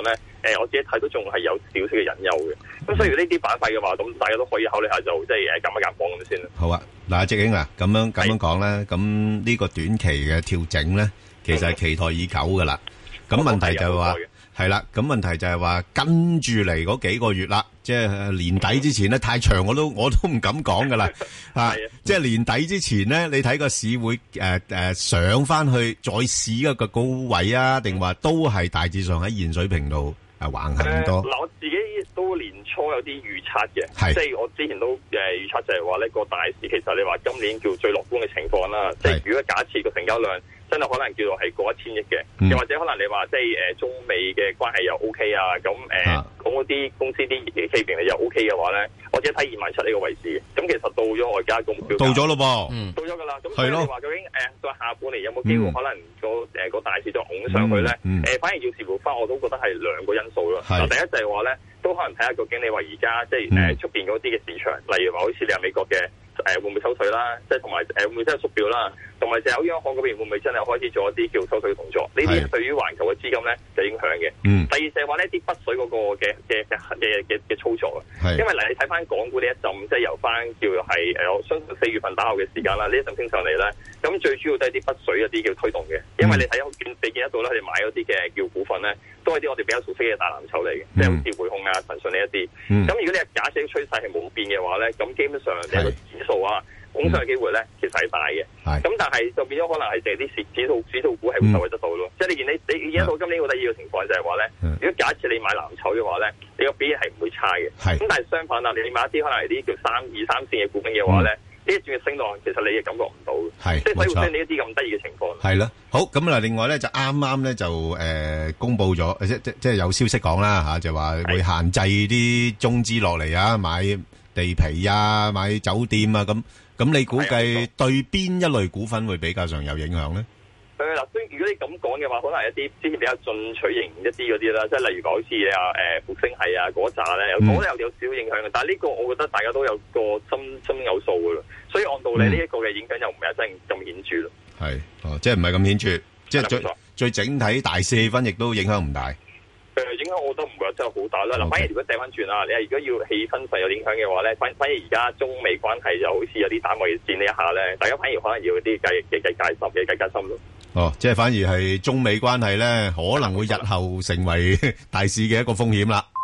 我自己睇都仲係有少少嘅隱憂嘅。咁所以呢啲板塊嘅話，咁大家都可以考慮下，就即係減一減磅咁先啦。 好啊，嗱，直英啊，咁樣講咧，咁呢個短期嘅調整咧，其實係期待已久噶啦。咁問題就係話係啦，咁問題就係話跟住嚟嗰幾個月啦，即係年底之前咧太長，我都唔敢講噶啦嚇。即係年底之前咧，你睇個市會上翻去再試一個高位啊，定話都係大致上喺現水平度橫行多？ 嗱，我自己都年初有啲預測嘅，即係我之前都預測就係話呢個大市其實你話今年叫最樂觀嘅情況啦。即係如果假設個成交量真係可能叫做係過1000億嘅，又或者可能你話即係中美嘅關係又 OK 啊，咁講嗰啲公司啲企業又 OK 嘅話咧，我只睇27,000呢個位置嘅。咁其實到咗外加個目標， 到咗咯噃， 到咗噶啦。咁所以你話究竟在下半年有冇機會可能個大市再拱上去咧？反而要視乎翻，我都覺得係兩個因素咯。嗱，第一就係話咧，都可能睇下究竟你話而家即係出邊嗰啲嘅市場，例如話好似你話美國嘅會唔會收水啦，即係同埋會唔會真係縮表啦，同埋就有央行嗰邊會唔會真係開始做一啲叫收水嘅動作？呢啲對於環球嘅資金咧就影響嘅。第二就係話呢啲北水嗰個嘅操作啊，因為嗱你睇翻港股呢一陣，即係由翻叫係我相信4月份打後嘅時間啦，呢一陣升上嚟咧，咁最主要都係啲北水一啲叫推動嘅，因為你見得到咧，佢哋買嗰啲嘅叫股份咧，都係啲我哋比較熟悉嘅大藍籌嚟嘅，即係好似匯控啊、騰訊呢一啲。咁如果你係假設趨勢係冇變嘅話咧，咁基本上你個指數啊，拱上嘅機會咧，其實係大嘅。咁但係就變咗可能係淨係啲指數股係會受惠得到咯。即係你見到今年個第二個情況就係話咧，如果假設你買藍籌嘅話咧，你個表現係唔會差嘅。咁但係相反啦，你買一啲可能係啲叫2、3線嘅股份嘅話咧，呢一轉嘅升浪其實你亦感覺唔到嘅。即係所以會出現呢一啲咁得意嘅情況。 係咯，好咁嗱，另外咧就啱啱咧就公佈咗，即係有消息講啦嚇，就話會限制啲中資落嚟啊，買地皮啊，買酒店啊咁。咁你估計對邊一類股份會比較上有影響咧？ 嗱，如果你咁講嘅話，可能係一啲之前比較進取型一啲嗰啲啦，即係例如講好似復星系啊嗰扎咧，我覺得有少少影響嘅。但係呢個我覺得大家都有個心有數嘅啦，所以按道理呢一個嘅影響又唔係真係咁顯著咯。 係，即係唔係咁顯著，即係最整體大市氣氛亦都影響唔大。 影響我覺得唔會真係好大啦。嗱，反而如果掉翻轉啦，你係如果要氣氛上有影響嘅話咧，反而而家中美關係就好似有啲打貿易戰呢一下咧，大家反而可能要啲計心咯。 哦，即係反而係中美關係咧，可能會日後成為大市嘅一個風險啦。